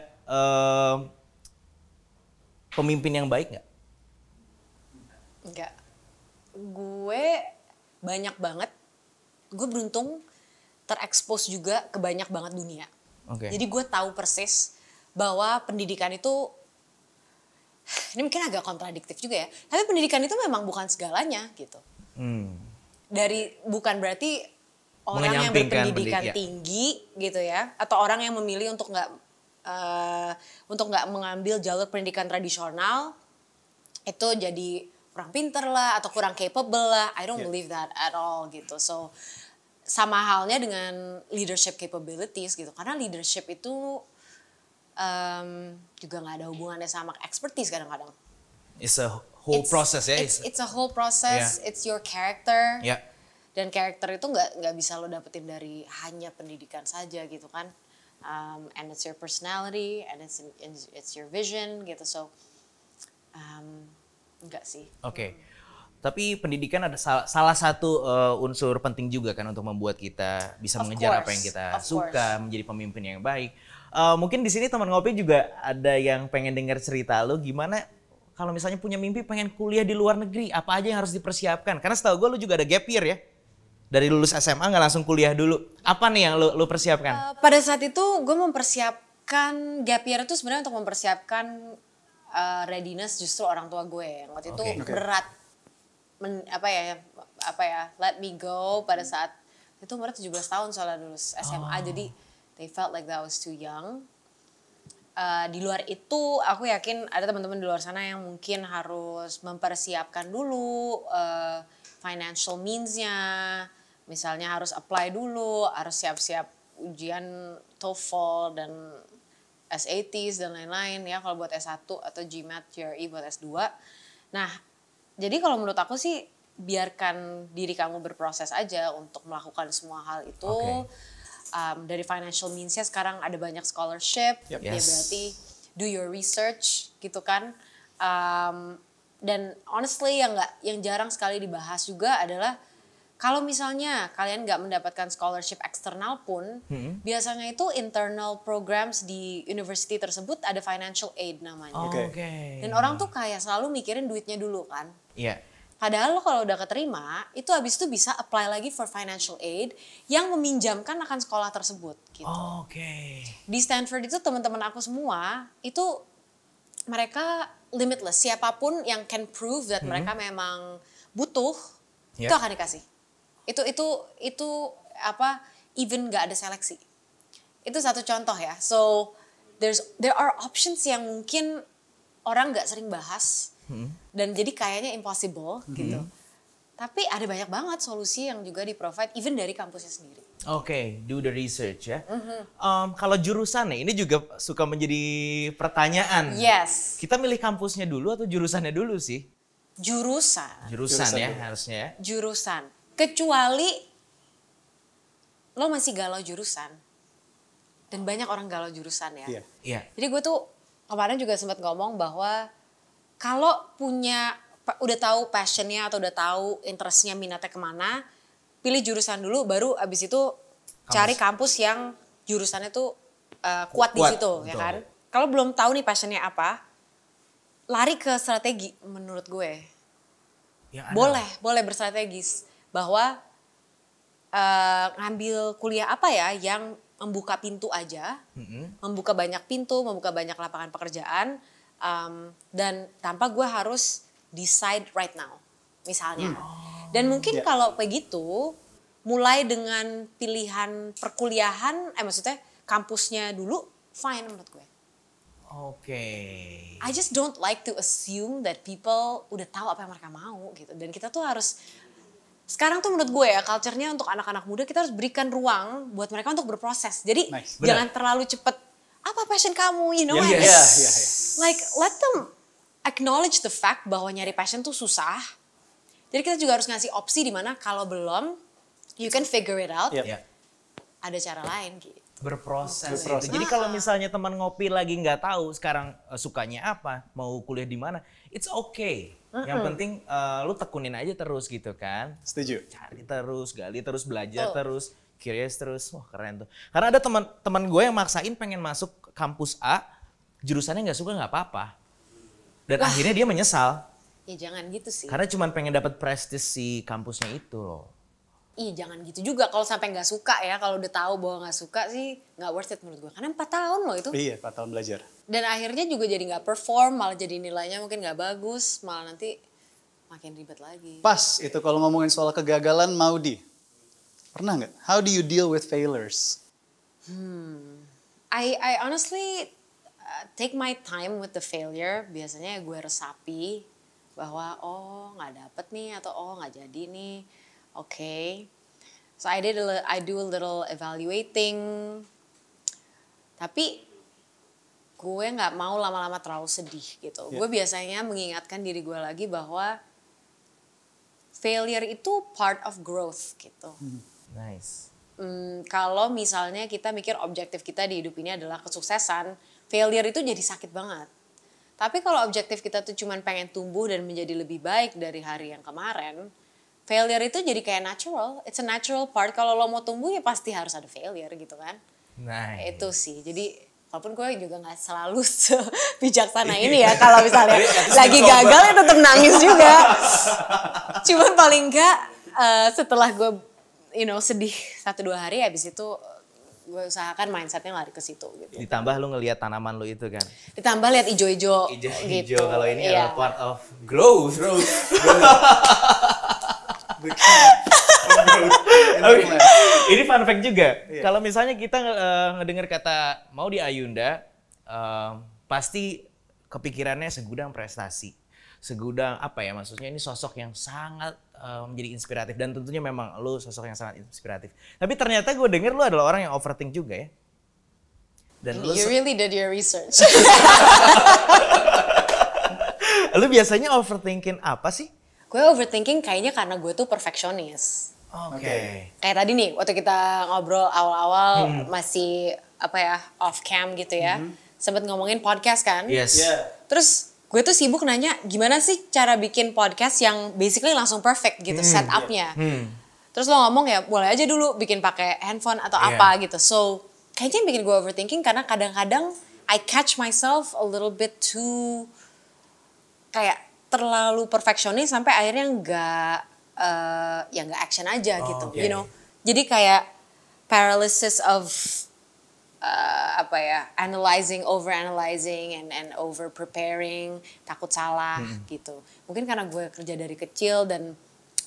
pemimpin yang baik nggak? Enggak. Gue banyak banget. Gue beruntung terekspos juga ke banyak banget dunia. Jadi gue tahu persis bahwa pendidikan itu, ini mungkin agak kontradiktif juga ya, tapi pendidikan itu memang bukan segalanya gitu. Bukan berarti orang yang berpendidikan tinggi gitu ya, atau orang yang memilih untuk nggak mengambil jalur pendidikan tradisional itu jadi kurang pinter lah atau kurang capable lah. I don't believe that at all gitu. So sama halnya dengan leadership capabilities gitu, karena leadership itu juga nggak ada hubungannya sama expertise kadang-kadang. It's a whole process ya. It's a whole process. It's your character. Yeah. Dan karakter itu nggak bisa lo dapetin dari hanya pendidikan saja gitu kan. And it's your personality and it's your vision gitu. So enggak sih. Oke. Tapi pendidikan ada salah satu unsur penting juga kan untuk membuat kita bisa mengejar apa yang kita suka, menjadi pemimpin yang baik. Mungkin di sini teman ngopi juga ada yang pengen dengar cerita lo gimana kalau misalnya punya mimpi pengen kuliah di luar negeri, apa aja yang harus dipersiapkan? Karena setahu gue lo juga ada gap year ya. Dari lulus SMA nggak langsung kuliah dulu. Apa nih yang lo persiapkan? Pada saat itu gue mempersiapkan gap year itu sebenarnya untuk mempersiapkan readiness justru orang tua gue yang waktu itu berat let me go pada saat itu umurnya 17 tahun soalnya dulu SMA, jadi they felt like that was too young. Di luar itu aku yakin ada teman-teman di luar sana yang mungkin harus mempersiapkan dulu financial means-nya, misalnya harus apply dulu, harus siap-siap ujian TOEFL dan SATs dan lain-lain ya kalau buat S1 atau GMAT, GRE buat S2. Nah, jadi kalau menurut aku sih biarkan diri kamu berproses aja untuk melakukan semua hal itu. Dari financial means-nya sekarang ada banyak scholarship, ya berarti do your research gitu kan. Dan honestly yang jarang sekali dibahas juga adalah kalau misalnya kalian nggak mendapatkan scholarship eksternal pun, biasanya itu internal programs di university tersebut ada financial aid namanya. Dan orang tuh kayak selalu mikirin duitnya dulu kan. Iya. Padahal lo kalau udah keterima, itu habis itu bisa apply lagi for financial aid yang meminjamkan akan sekolah tersebut gitu. Di Stanford itu teman-teman aku semua, itu mereka limitless. Siapapun yang can prove that mereka memang butuh, itu akan dikasih. Itu even gak ada seleksi. Itu satu contoh ya. So there are options yang mungkin orang gak sering bahas. Dan jadi kayaknya impossible gitu. Tapi ada banyak banget solusi yang juga di-provide even dari kampusnya sendiri. Do the research ya. Kalau jurusan nih, ini juga suka menjadi pertanyaan. Yes. Kita milih kampusnya dulu atau jurusannya dulu sih? Jurusan ya harusnya ya. Jurusan. Kecuali lo masih galau jurusan. Dan banyak orang galau jurusan ya. Iya. Jadi gue tuh kemarin juga sempat ngomong bahwa kalau udah tahu passionnya atau udah tahu interestnya, minatnya kemana, pilih jurusan dulu, baru abis itu cari kampus yang jurusannya tuh kuat di situ, ya kan? Kalau belum tahu nih passionnya apa, lari ke strategi menurut gue. Boleh berstrategis bahwa ngambil kuliah apa ya yang membuka pintu aja, membuka banyak pintu, membuka banyak lapangan pekerjaan. Dan tanpa gue harus decide right now, misalnya. Dan mungkin kalau begitu, mulai dengan pilihan perkuliahan, maksudnya kampusnya dulu, fine menurut gue. I just don't like to assume that people udah tahu apa yang mereka mau gitu. Dan kita tuh harus, sekarang tuh menurut gue ya, culture-nya untuk anak-anak muda kita harus berikan ruang buat mereka untuk berproses. Jadi jangan terlalu cepet, apa passion kamu, Like let them acknowledge the fact bahwa nyari passion tuh susah. Jadi kita juga harus ngasih opsi di mana kalau belum, you can figure it out. Ada cara lain gitu. Berproses. Jadi kalau misalnya teman ngopi lagi nggak tahu sekarang sukanya apa, mau kuliah di mana, it's okay. Yang penting lu tekunin aja terus gitu kan. Setuju. Cari terus, gali terus, belajar terus, curious terus. Wah keren tuh. Karena ada teman gue yang maksain pengen masuk kampus A, jurusannya nggak suka nggak apa-apa. Dan akhirnya dia menyesal. Ya jangan gitu sih. Karena cuma pengen dapat prestis si kampusnya itu loh. Jangan gitu juga kalau sampai nggak suka ya. Kalau udah tahu bahwa nggak suka sih nggak worth it menurut gue. Karena 4 tahun loh itu. Iya, 4 tahun belajar. Dan akhirnya juga jadi nggak perform, malah jadi nilainya mungkin nggak bagus, malah nanti makin ribet lagi. Pas itu kalau ngomongin soal kegagalan, Maudy. Pernah nggak? How do you deal with failures? I honestly take my time with the failure. Biasanya gue resapi bahwa nggak dapet nih atau nggak jadi nih. So I do a little evaluating. Tapi gue nggak mau lama-lama terlalu sedih gitu. Gue biasanya mengingatkan diri gue lagi bahwa failure itu part of growth gitu. Nice. Kalau misalnya kita mikir objektif kita di hidup ini adalah kesuksesan, failure itu jadi sakit banget. Tapi kalau objektif kita tuh cuman pengen tumbuh dan menjadi lebih baik dari hari yang kemarin, failure itu jadi kayak natural. It's a natural part. Kalau lo mau tumbuh ya pasti harus ada failure gitu kan. Nice. Itu sih. Jadi walaupun gue juga gak selalu bijaksana ini ya. Kalau misalnya lagi gagal ya tetap nangis juga. Cuman paling enggak setelah gue sedih 1-2 hari, habis itu gue usahakan mindsetnya lari ke situ gitu. Ditambah lu ngelihat tanaman lu itu kan. Ditambah lihat ijo-ijo gitu. Kalau ini adalah part of growth. Oke. Ini fun fact juga. Kalau misalnya kita ngedengar kata Maudy Ayunda, pasti kepikirannya segudang prestasi. Segudang apa ya, maksudnya ini sosok yang sangat menjadi inspiratif. Dan tentunya memang lu sosok yang sangat inspiratif. Tapi ternyata gue denger lu adalah orang yang overthink juga ya. Dan You really did your research. lu biasanya overthinking apa sih? Gue overthinking kayaknya karena gue tuh perfeksionis. Oke. Kayak tadi nih, waktu kita ngobrol awal-awal masih apa ya, off cam gitu ya. Sempet ngomongin podcast kan. Yes. Terus gue tuh sibuk nanya gimana sih cara bikin podcast yang basically langsung perfect gitu setupnya. Terus lo ngomong ya boleh aja dulu bikin pakai handphone atau apa gitu. So kayaknya yang bikin gue overthinking karena kadang-kadang I catch myself a little bit too kayak terlalu perfeksionis sampai akhirnya nggak action aja gitu, you know. Jadi kayak paralysis of apa ya, overanalyzing and over preparing, takut salah gitu. Mungkin karena gue kerja dari kecil dan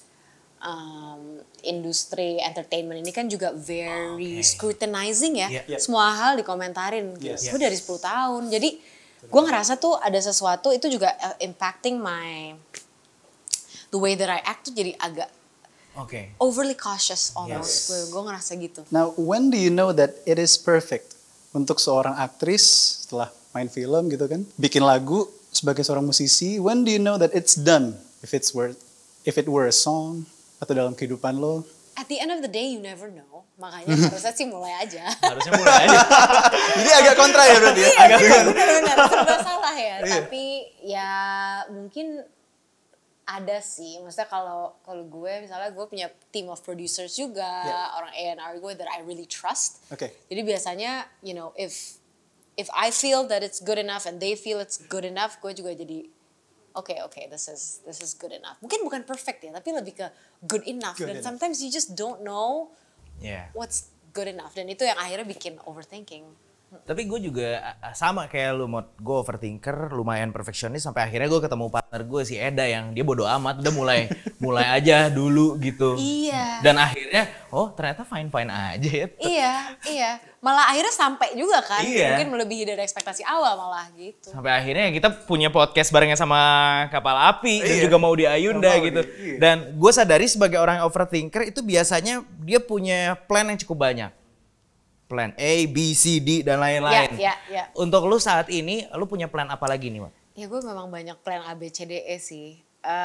industri entertainment ini kan juga very scrutinizing ya. Semua hal dikomentarin. Gue dari 10 tahun. Jadi gue ngerasa tuh ada sesuatu itu juga impacting the way that I act tuh jadi agak overly cautious almost. Gue ngerasa gitu. Now, when do you know that it is perfect untuk seorang aktris setelah main film gitu kan, bikin lagu sebagai seorang musisi? When do you know that it's done? If it were a song atau dalam kehidupan lo? At the end of the day, you never know. Makanya harusnya sih mulai aja. Harusnya mulai aja. Jadi agak kontra ya berarti ya? Iya, benar-benar serba salah ya. Tapi ya mungkin ada sih. Maksudnya kalau gue misalnya gue punya team of producers juga, orang A&R gue that I really trust. Jadi biasanya, you know, if I feel that it's good enough and they feel it's good enough, gue juga jadi okay, this is good enough. Mungkin bukan perfect ya, tapi lebih ke good enough. Dan sometimes you just don't know what's good enough. Dan itu yang akhirnya bikin overthinking. Tapi gue juga sama kayak lu, gue overthinker, lumayan perfeksionis sampai akhirnya gue ketemu partner gue si Eda yang dia bodo amat, udah mulai aja dulu gitu. Iya. Dan akhirnya ternyata fine aja ya. Iya. Malah akhirnya sampai juga kan. Iya. Mungkin melebihi dari ekspektasi awal malah gitu. Sampai akhirnya kita punya podcast barengan sama Kapal Api dan juga Maudy Ayunda gitu. Dan gue sadari sebagai orang overthinker itu biasanya dia punya plan yang cukup banyak. Plan A, B, C, D, dan lain-lain. Ya. Untuk lu saat ini, lu punya plan apa lagi nih, Mak? Ya gue memang banyak plan A, B, C, D, E sih.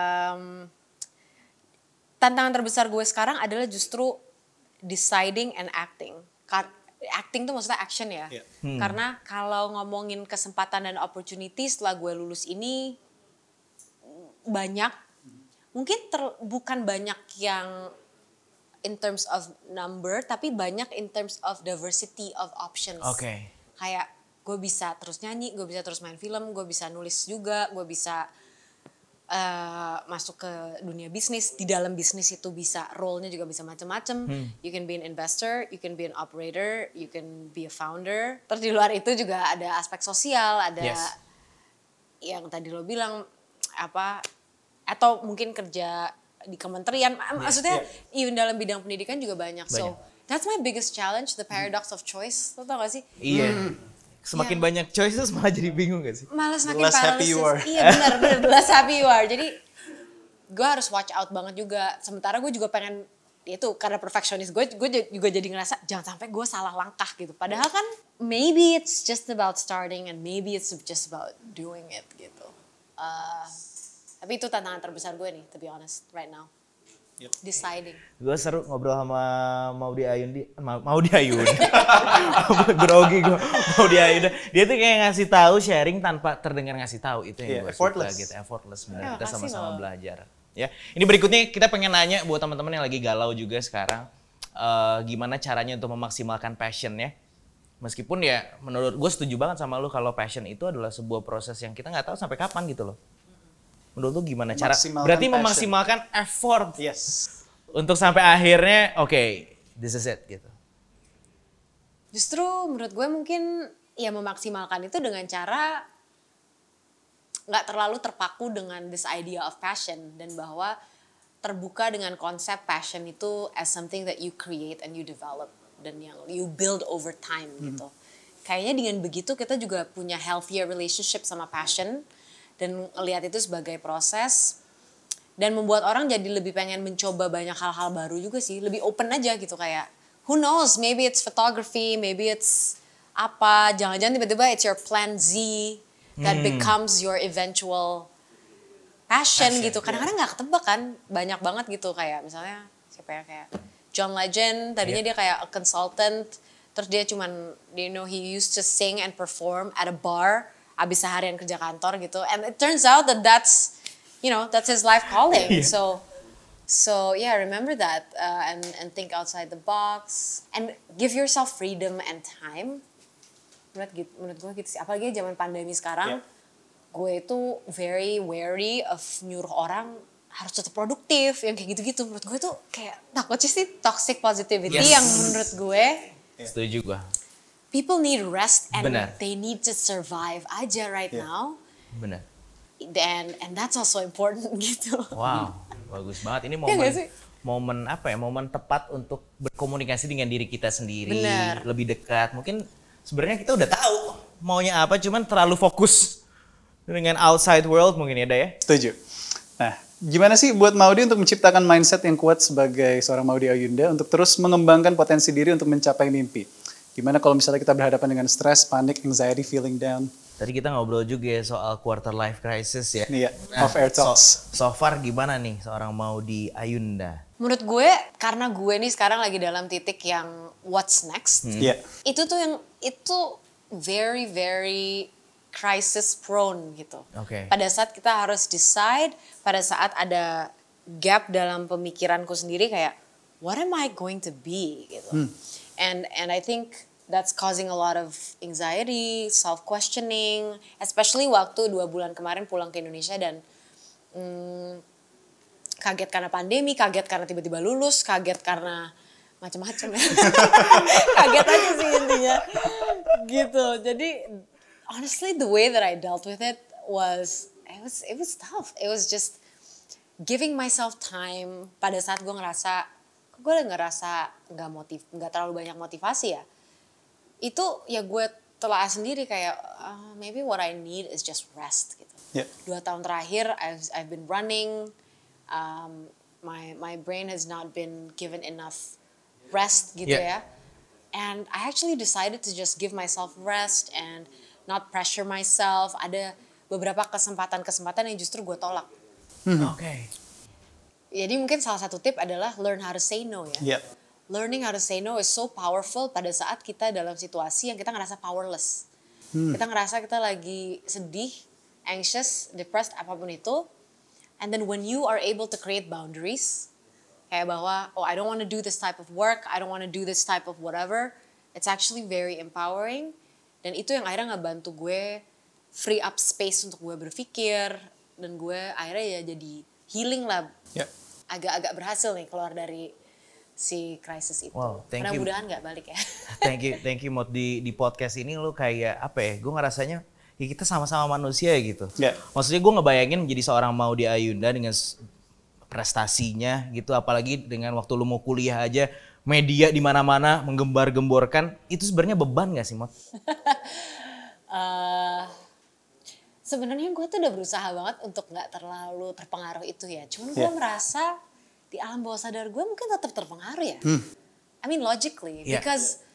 Tantangan terbesar gue sekarang adalah justru deciding and acting. Acting tuh maksudnya action ya. Karena kalau ngomongin kesempatan dan opportunity setelah gue lulus ini banyak. Mungkin bukan banyak yang in terms of number, tapi banyak in terms of diversity of options. Kayak gue bisa terus nyanyi, gue bisa terus main film, gue bisa nulis juga, gue bisa masuk ke dunia bisnis. Di dalam bisnis itu bisa role-nya juga bisa macam-macam. You can be an investor, you can be an operator, you can be a founder. Terus di luar itu juga ada aspek sosial, ada yang tadi lo bilang apa, atau mungkin kerja di kementerian, maksudnya even dalam bidang pendidikan juga banyak. So that's my biggest challenge, the paradox of choice. Lo tau gak sih? Iya. Semakin banyak choices malah jadi bingung gak sih? Malah semakin less happy you are. Iya benar, the less happy you are. Jadi gue harus watch out banget juga. Sementara gue juga pengen, itu karena perfeksionis gue juga jadi ngerasa jangan sampai gue salah langkah gitu. Padahal kan maybe it's just about starting and maybe it's just about doing it gitu. Tapi itu tantangan terbesar gue nih, to be honest, right now. Deciding. Gue seru ngobrol sama Maudy Ayunda. Grogi gue, Maudy Ayunda. Dia tuh kayak ngasih tahu, sharing tanpa terdengar ngasih tahu. Itu yang gue suka gitu, effortless benar. Kita sama-sama belajar. Ya, ini berikutnya kita pengen nanya buat teman-teman yang lagi galau juga sekarang, gimana caranya untuk memaksimalkan passion-nya. Meskipun ya menurut gue setuju banget sama lu kalau passion itu adalah sebuah proses yang kita nggak tahu sampai kapan gitu loh. Menurut lu gimana cara? Berarti memaksimalkan effort. Untuk sampai akhirnya, this is it gitu. Justru menurut gue mungkin ya memaksimalkan itu dengan cara nggak terlalu terpaku dengan this idea of passion, dan bahwa terbuka dengan konsep passion itu as something that you create and you develop dan yang you build over time gitu. Kayaknya dengan begitu kita juga punya healthier relationship sama passion dan lihat itu sebagai proses dan membuat orang jadi lebih pengen mencoba banyak hal-hal baru juga sih, lebih open aja gitu kayak who knows, maybe it's photography, maybe it's apa, jangan-jangan tiba-tiba it's your plan Z that becomes your eventual passion gitu. Kadang-kadang nggak ketebak kan, banyak banget gitu kayak misalnya siapa ya kayak John Legend, tadinya dia kayak a consultant, terus dia cuman he used to sing and perform at a bar abis seharian kerja kantor gitu, and it turns out that that's his life calling. So yeah, remember that and think outside the box and give yourself freedom and time. Menurut gue gitu sih, apalagi zaman pandemi sekarang. Gue itu very wary of nyuruh orang harus tetap produktif, yang kayak gitu-gitu. Menurut gue tuh kayak takutnya sih toxic positivity yang menurut gue. Setuju gue. People need rest and Benar. they need to survive aja right now. Benar. And that's also important gitu. Wow, bagus banget. Ini nggak sih? momen apa ya? Momen tepat untuk berkomunikasi dengan diri kita sendiri, Benar. lebih dekat. Mungkin sebenarnya kita udah tahu maunya apa, cuman terlalu fokus dengan outside world mungkin ya. Setuju. Nah, gimana sih buat Maudy untuk menciptakan mindset yang kuat sebagai seorang Maudy Ayunda untuk terus mengembangkan potensi diri untuk mencapai mimpi? Gimana kalau misalnya kita berhadapan dengan stres, panik, anxiety, feeling down? Tadi kita ngobrol juga ya soal quarter life crisis ya. Iya, off-air talks. So far gimana nih seorang Maudy Ayunda? Menurut gue, karena gue nih sekarang lagi dalam titik yang what's next. Iya. Itu very, very crisis prone gitu. Oke. Pada saat kita harus decide, pada saat ada gap dalam pemikiranku sendiri kayak what am I going to be gitu. And I think that's causing a lot of anxiety, self-questioning, especially waktu 2 bulan kemarin pulang ke Indonesia dan kaget karena pandemi, kaget karena tiba-tiba lulus, kaget karena macam-macam ya. Kaget aja sih intinya. Gitu. Jadi honestly the way that I dealt with it was tough. It was just giving myself time pada saat gue ngerasa nggak terlalu banyak motivasi ya. Itu ya gue telah sendiri kayak maybe what I need is just rest gitu. 2 tahun terakhir I've been running, my brain has not been given enough rest gitu ya. And I actually decided to just give myself rest and not pressure myself. Ada beberapa kesempatan yang justru gue tolak. Oke. Jadi mungkin salah satu tip adalah learn how to say no ya. Learning how to say no is so powerful pada saat kita dalam situasi yang kita ngerasa powerless. Kita ngerasa kita lagi sedih, anxious, depressed, apapun itu. And then when you are able to create boundaries, kayak bahwa, I don't want to do this type of work, I don't want to do this type of whatever, it's actually very empowering. Dan itu yang akhirnya ngebantu gue free up space untuk gue berpikir. Dan gue akhirnya ya jadi healing lah. Agak-agak berhasil nih keluar dari si crisis itu. Wow, thank you. Mudah-mudahan gak balik ya. Thank you Mot, di podcast ini lu kayak apa ya, gue ngerasanya ya kita sama-sama manusia gitu. Maksudnya gue ngebayangin menjadi seorang Maudy Ayunda dengan prestasinya gitu, apalagi dengan waktu lu mau kuliah aja media di mana-mana menggembar-gemborkan, itu sebenarnya beban gak sih Mot? Sebenarnya gue tuh udah berusaha banget untuk nggak terlalu terpengaruh itu ya. Cuman gue merasa di alam bawah sadar gue mungkin tetap terpengaruh ya. I mean logically, because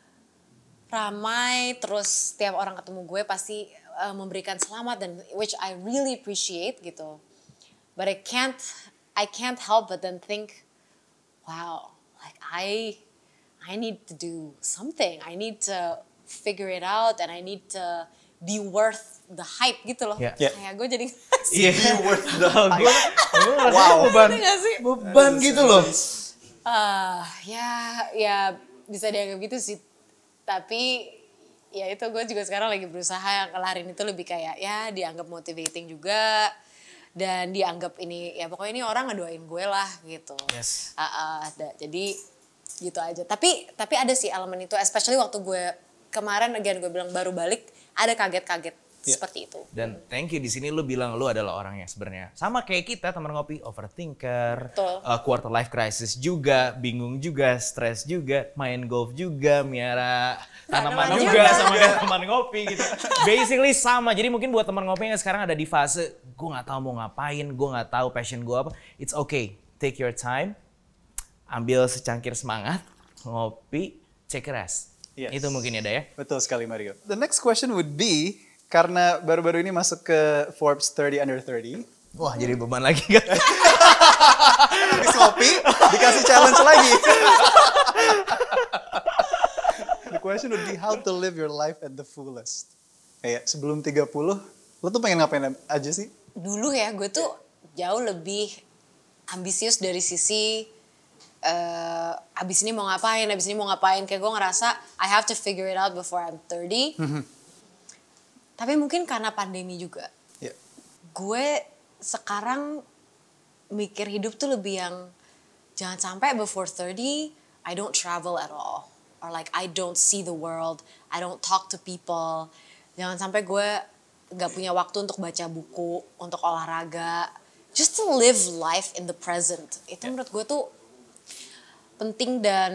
ramai terus tiap orang ketemu gue pasti memberikan selamat dan which I really appreciate gitu. But I can't help but then think, wow, like I need to do something. I need to figure it out and I need to be worth the hype gitu loh. Kayak gue jadi Worth the hype. Wow. Beban gitu loh. Ya bisa dianggap gitu sih. Tapi ya itu gue juga sekarang lagi berusaha ngelarin itu lebih kayak ya dianggap motivating juga. Dan dianggap ini ya pokoknya ini orang ngedoain gue lah gitu. Yes. Jadi gitu aja. Tapi ada sih elemen itu, especially waktu gue kemarin again gue bilang baru balik, ada kaget-kaget Seperti itu. Dan thank you, di sini lu bilang lu adalah orang yang sebenarnya sama kayak kita teman ngopi, overthinker, Betul. quarter life crisis juga, bingung juga, stres juga, main golf juga, miara tanaman Tanaman juga juga. sama kayak teman ngopi gitu. Basically sama. Jadi mungkin buat teman ngopi yang sekarang ada di fase gue nggak tahu mau ngapain, gue nggak tahu passion gue apa, it's okay, take your time, ambil secangkir semangat, ngopi, take a rest. Yes. Itu mungkin ya, ya. Betul sekali Mario. The next question would be, karena baru-baru ini masuk ke Forbes 30 Under 30. Wah, jadi beban lagi kan? Habis ngopi, dikasih challenge lagi. The question would be how to live your life at the fullest. Kayak sebelum 30, lo tuh pengen ngapain aja sih? Dulu ya gue tuh jauh lebih ambisius dari sisi abis ini mau ngapain, kayak gue ngerasa I have to figure it out before I'm 30. Tapi mungkin karena pandemi juga, Yeah. gue sekarang mikir hidup tuh lebih yang jangan sampai before 30 I don't travel at all, or like I don't see the world, I don't talk to people. Jangan sampai gue gak punya waktu untuk baca buku, untuk olahraga, just to live life in the present. Itu menurut gue tuh penting dan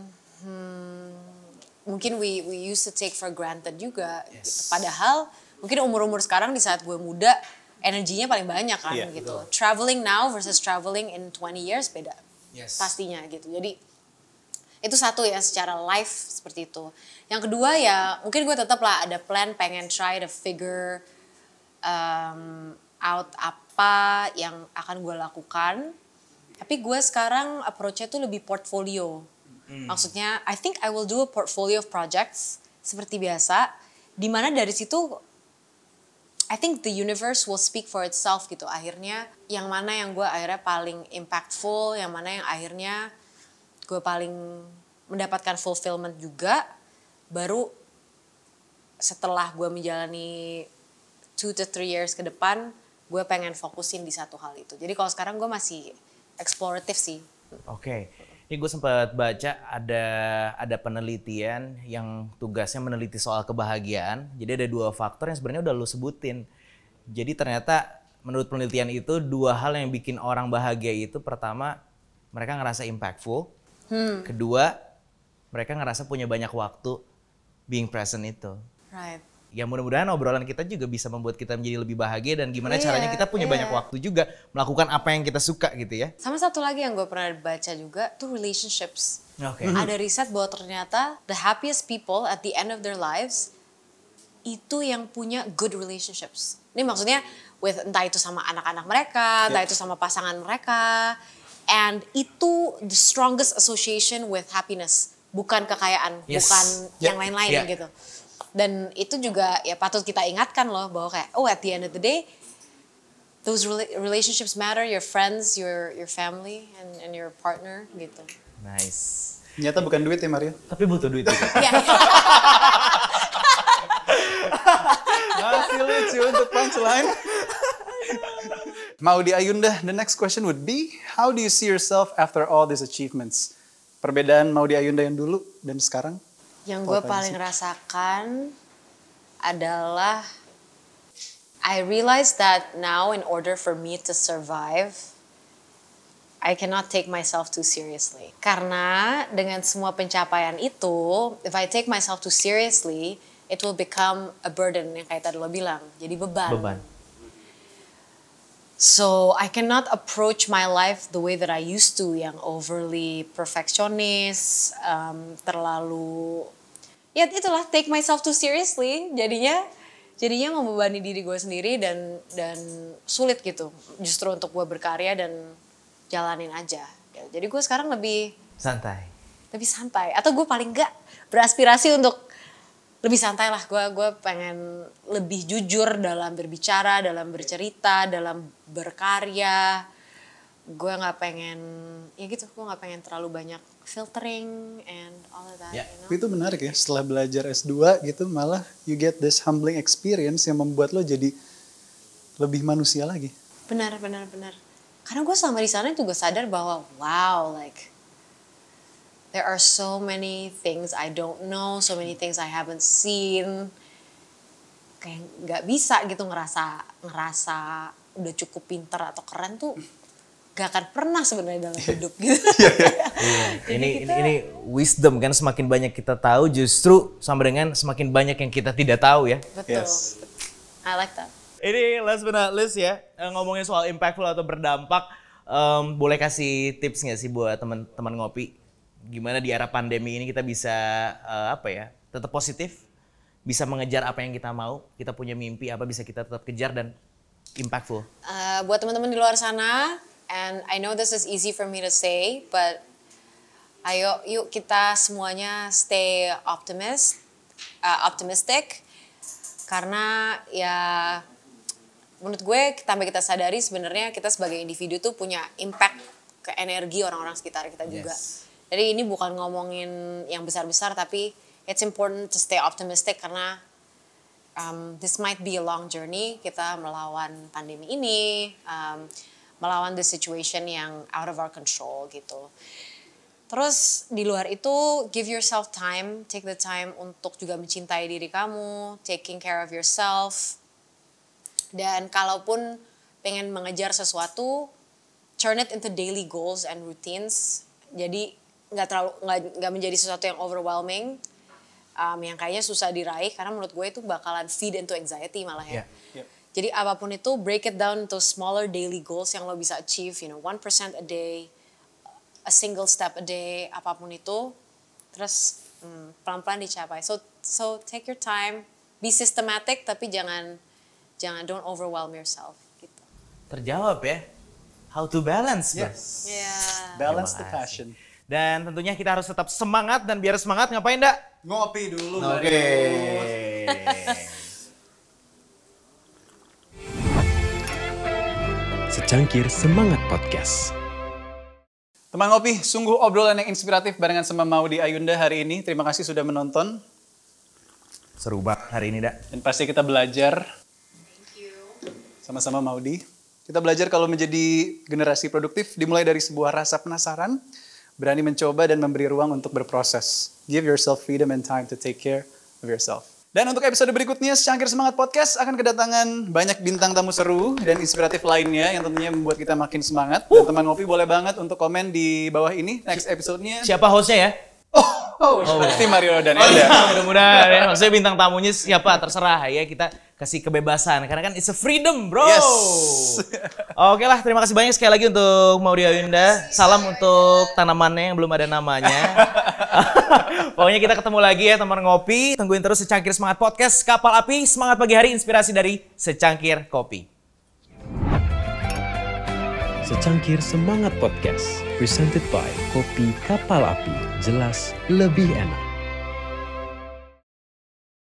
mungkin we used to take for granted juga. Gitu. Padahal mungkin umur-umur sekarang di saat gue muda energinya paling banyak kan Iya, gitu. Traveling now versus traveling in 20 years beda. Yes. Pastinya gitu. Jadi itu satu ya secara life seperti itu. Yang kedua ya mungkin gue tetap lah ada plan pengen try to figure out apa yang akan gue lakukan. Tapi gue sekarang approach-nya tuh lebih portfolio. Maksudnya, I think I will do a portfolio of projects seperti biasa, di mana dari situ, I think the universe will speak for itself gitu. Akhirnya, yang mana yang gue akhirnya paling impactful, yang mana yang akhirnya gue paling mendapatkan fulfillment juga, baru setelah gue menjalani 2 to 3 years ke depan, gue pengen fokusin di satu hal itu. Jadi kalau sekarang gue masih eksploratif sih. Oke. Ini gue sempat baca ada penelitian yang tugasnya meneliti soal kebahagiaan. Jadi ada 2 faktor yang sebenarnya udah lu sebutin. Jadi ternyata menurut penelitian itu 2 hal yang bikin orang bahagia itu, pertama mereka ngerasa impactful. Kedua, mereka ngerasa punya banyak waktu being present itu. Right. Ya mudah-mudahan obrolan kita juga bisa membuat kita menjadi lebih bahagia dan gimana Iya, caranya kita punya iya. banyak waktu juga melakukan apa yang kita suka gitu ya. Sama satu lagi yang gue pernah baca juga tuh relationships. Oke. Ada riset bahwa ternyata the happiest people at the end of their lives itu yang punya good relationships. Ini maksudnya with entah itu sama anak-anak mereka, entah itu sama pasangan mereka. And itu the strongest association with happiness. Bukan kekayaan, Yes. bukan Yeah. yang lain-lain Yeah. gitu. Dan itu juga ya patut kita ingatkan loh bahwa kayak at the end of the day those relationships matter, your friends, your family and your partner gitu. Nice. Ternyata bukan duit ya Mario. Tapi butuh duit juga. Ya. Masih lucu untuk punchline. Maudy Ayunda, the next question would be, how do you see yourself after all these achievements? Perbedaan Maudy Ayunda yang dulu dan sekarang? Yang gue Apa paling sih? rasakan adalah I realize that now in order for me to survive, I cannot take myself too seriously. Karena dengan semua pencapaian itu, if I take myself too seriously, it will become a burden yang kayak tadi lo bilang, jadi beban. Beban. So I cannot approach my life the way that I used to, yang overly perfectionist, terlalu, ya itulah take myself too seriously. Jadinya membebani diri gue sendiri dan sulit gitu, justru untuk gue berkarya dan jalanin aja. Jadi gue sekarang lebih Santai. santai, atau gue paling enggak beraspirasi untuk lebih santai lah. Gue pengen lebih jujur dalam berbicara, dalam bercerita, dalam berkarya. Gue nggak pengen, ya gitu, gue nggak pengen terlalu banyak filtering and all of that. Ya. You know? Tapi itu menarik ya, setelah belajar S2 gitu malah you get this humbling experience yang membuat lo jadi lebih manusia lagi. Benar. Karena gue selama di sana juga sadar bahwa wow, like there are so many things I don't know, so many things I haven't seen. kayak nggak bisa gitu ngerasa udah cukup pinter atau keren tuh gak akan pernah sebenarnya dalam hidup gitu. Ini wisdom kan, semakin banyak kita tahu justru sama dengan semakin banyak yang kita tidak tahu ya. Betul. Yes. I like that. Ini last but not least ya, ngomongin soal impactful atau berdampak, boleh kasih tips nggak sih buat teman-teman ngopi? Gimana di era pandemi ini kita bisa tetap positif, bisa mengejar apa yang kita mau, kita punya mimpi apa bisa kita tetap kejar dan impactful. Buat teman-teman di luar sana, and I know this is easy for me to say, but ayo yuk kita semuanya stay optimistic, karena ya menurut gue tanpa kita sadari sebenarnya kita sebagai individu tuh punya impact ke energi orang-orang sekitar kita juga. Jadi ini bukan ngomongin yang besar-besar, tapi it's important to stay optimistic karena this might be a long journey kita melawan pandemi ini, melawan the situation yang out of our control gitu. Terus di luar itu give yourself time, take the time untuk juga mencintai diri kamu, taking care of yourself. Dan kalaupun pengen mengejar sesuatu, turn it into daily goals and routines. Jadi nggak menjadi sesuatu yang overwhelming, yang kayaknya susah diraih karena menurut gue itu bakalan feed into anxiety malah ya. Yeah. Jadi apapun itu break it down into smaller daily goals yang lo bisa achieve, 1% a day, a single step a day, apapun itu, terus pelan-pelan dicapai. So take your time, be systematic tapi jangan don't overwhelm yourself gitu. Terjawab ya. How to balance. Yes. Yeah. Balance the Terima kasih. passion. Dan tentunya kita harus tetap semangat, dan biar semangat ngapain dak? Ngopi dulu. Oke. Secangkir Semangat Podcast. Teman ngopi, sungguh obrolan yang inspiratif barengan sama Maudy Ayunda hari ini. Terima kasih sudah menonton. Seru banget hari ini dak. Dan pasti kita belajar. Sama-sama Maudy. Kita belajar kalau menjadi generasi produktif dimulai dari sebuah rasa penasaran, berani mencoba dan memberi ruang untuk berproses. Give yourself freedom and time to take care of yourself. Dan untuk episode berikutnya, Secangkir Semangat Podcast akan kedatangan banyak bintang tamu seru dan inspiratif lainnya yang tentunya membuat kita makin semangat. Dan teman ngopi boleh banget untuk komen di bawah ini next episode-nya. Siapa hostnya ya? Pasti Mario dan Enda. Mudah-mudahan ya. Maksudnya bintang tamunya siapa terserah ya, kita kasih kebebasan karena kan it's a freedom bro. Yes. Oke lah, terima kasih banyak sekali lagi untuk Maudy Ayunda. Salam untuk tanamannya yang belum ada namanya. Pokoknya kita ketemu lagi ya teman ngopi. Tungguin terus Secangkir Semangat Podcast, Kapal Api, semangat pagi hari, inspirasi dari secangkir kopi. Secangkir Semangat Podcast, presented by Kopi Kapal Api, jelas lebih enak.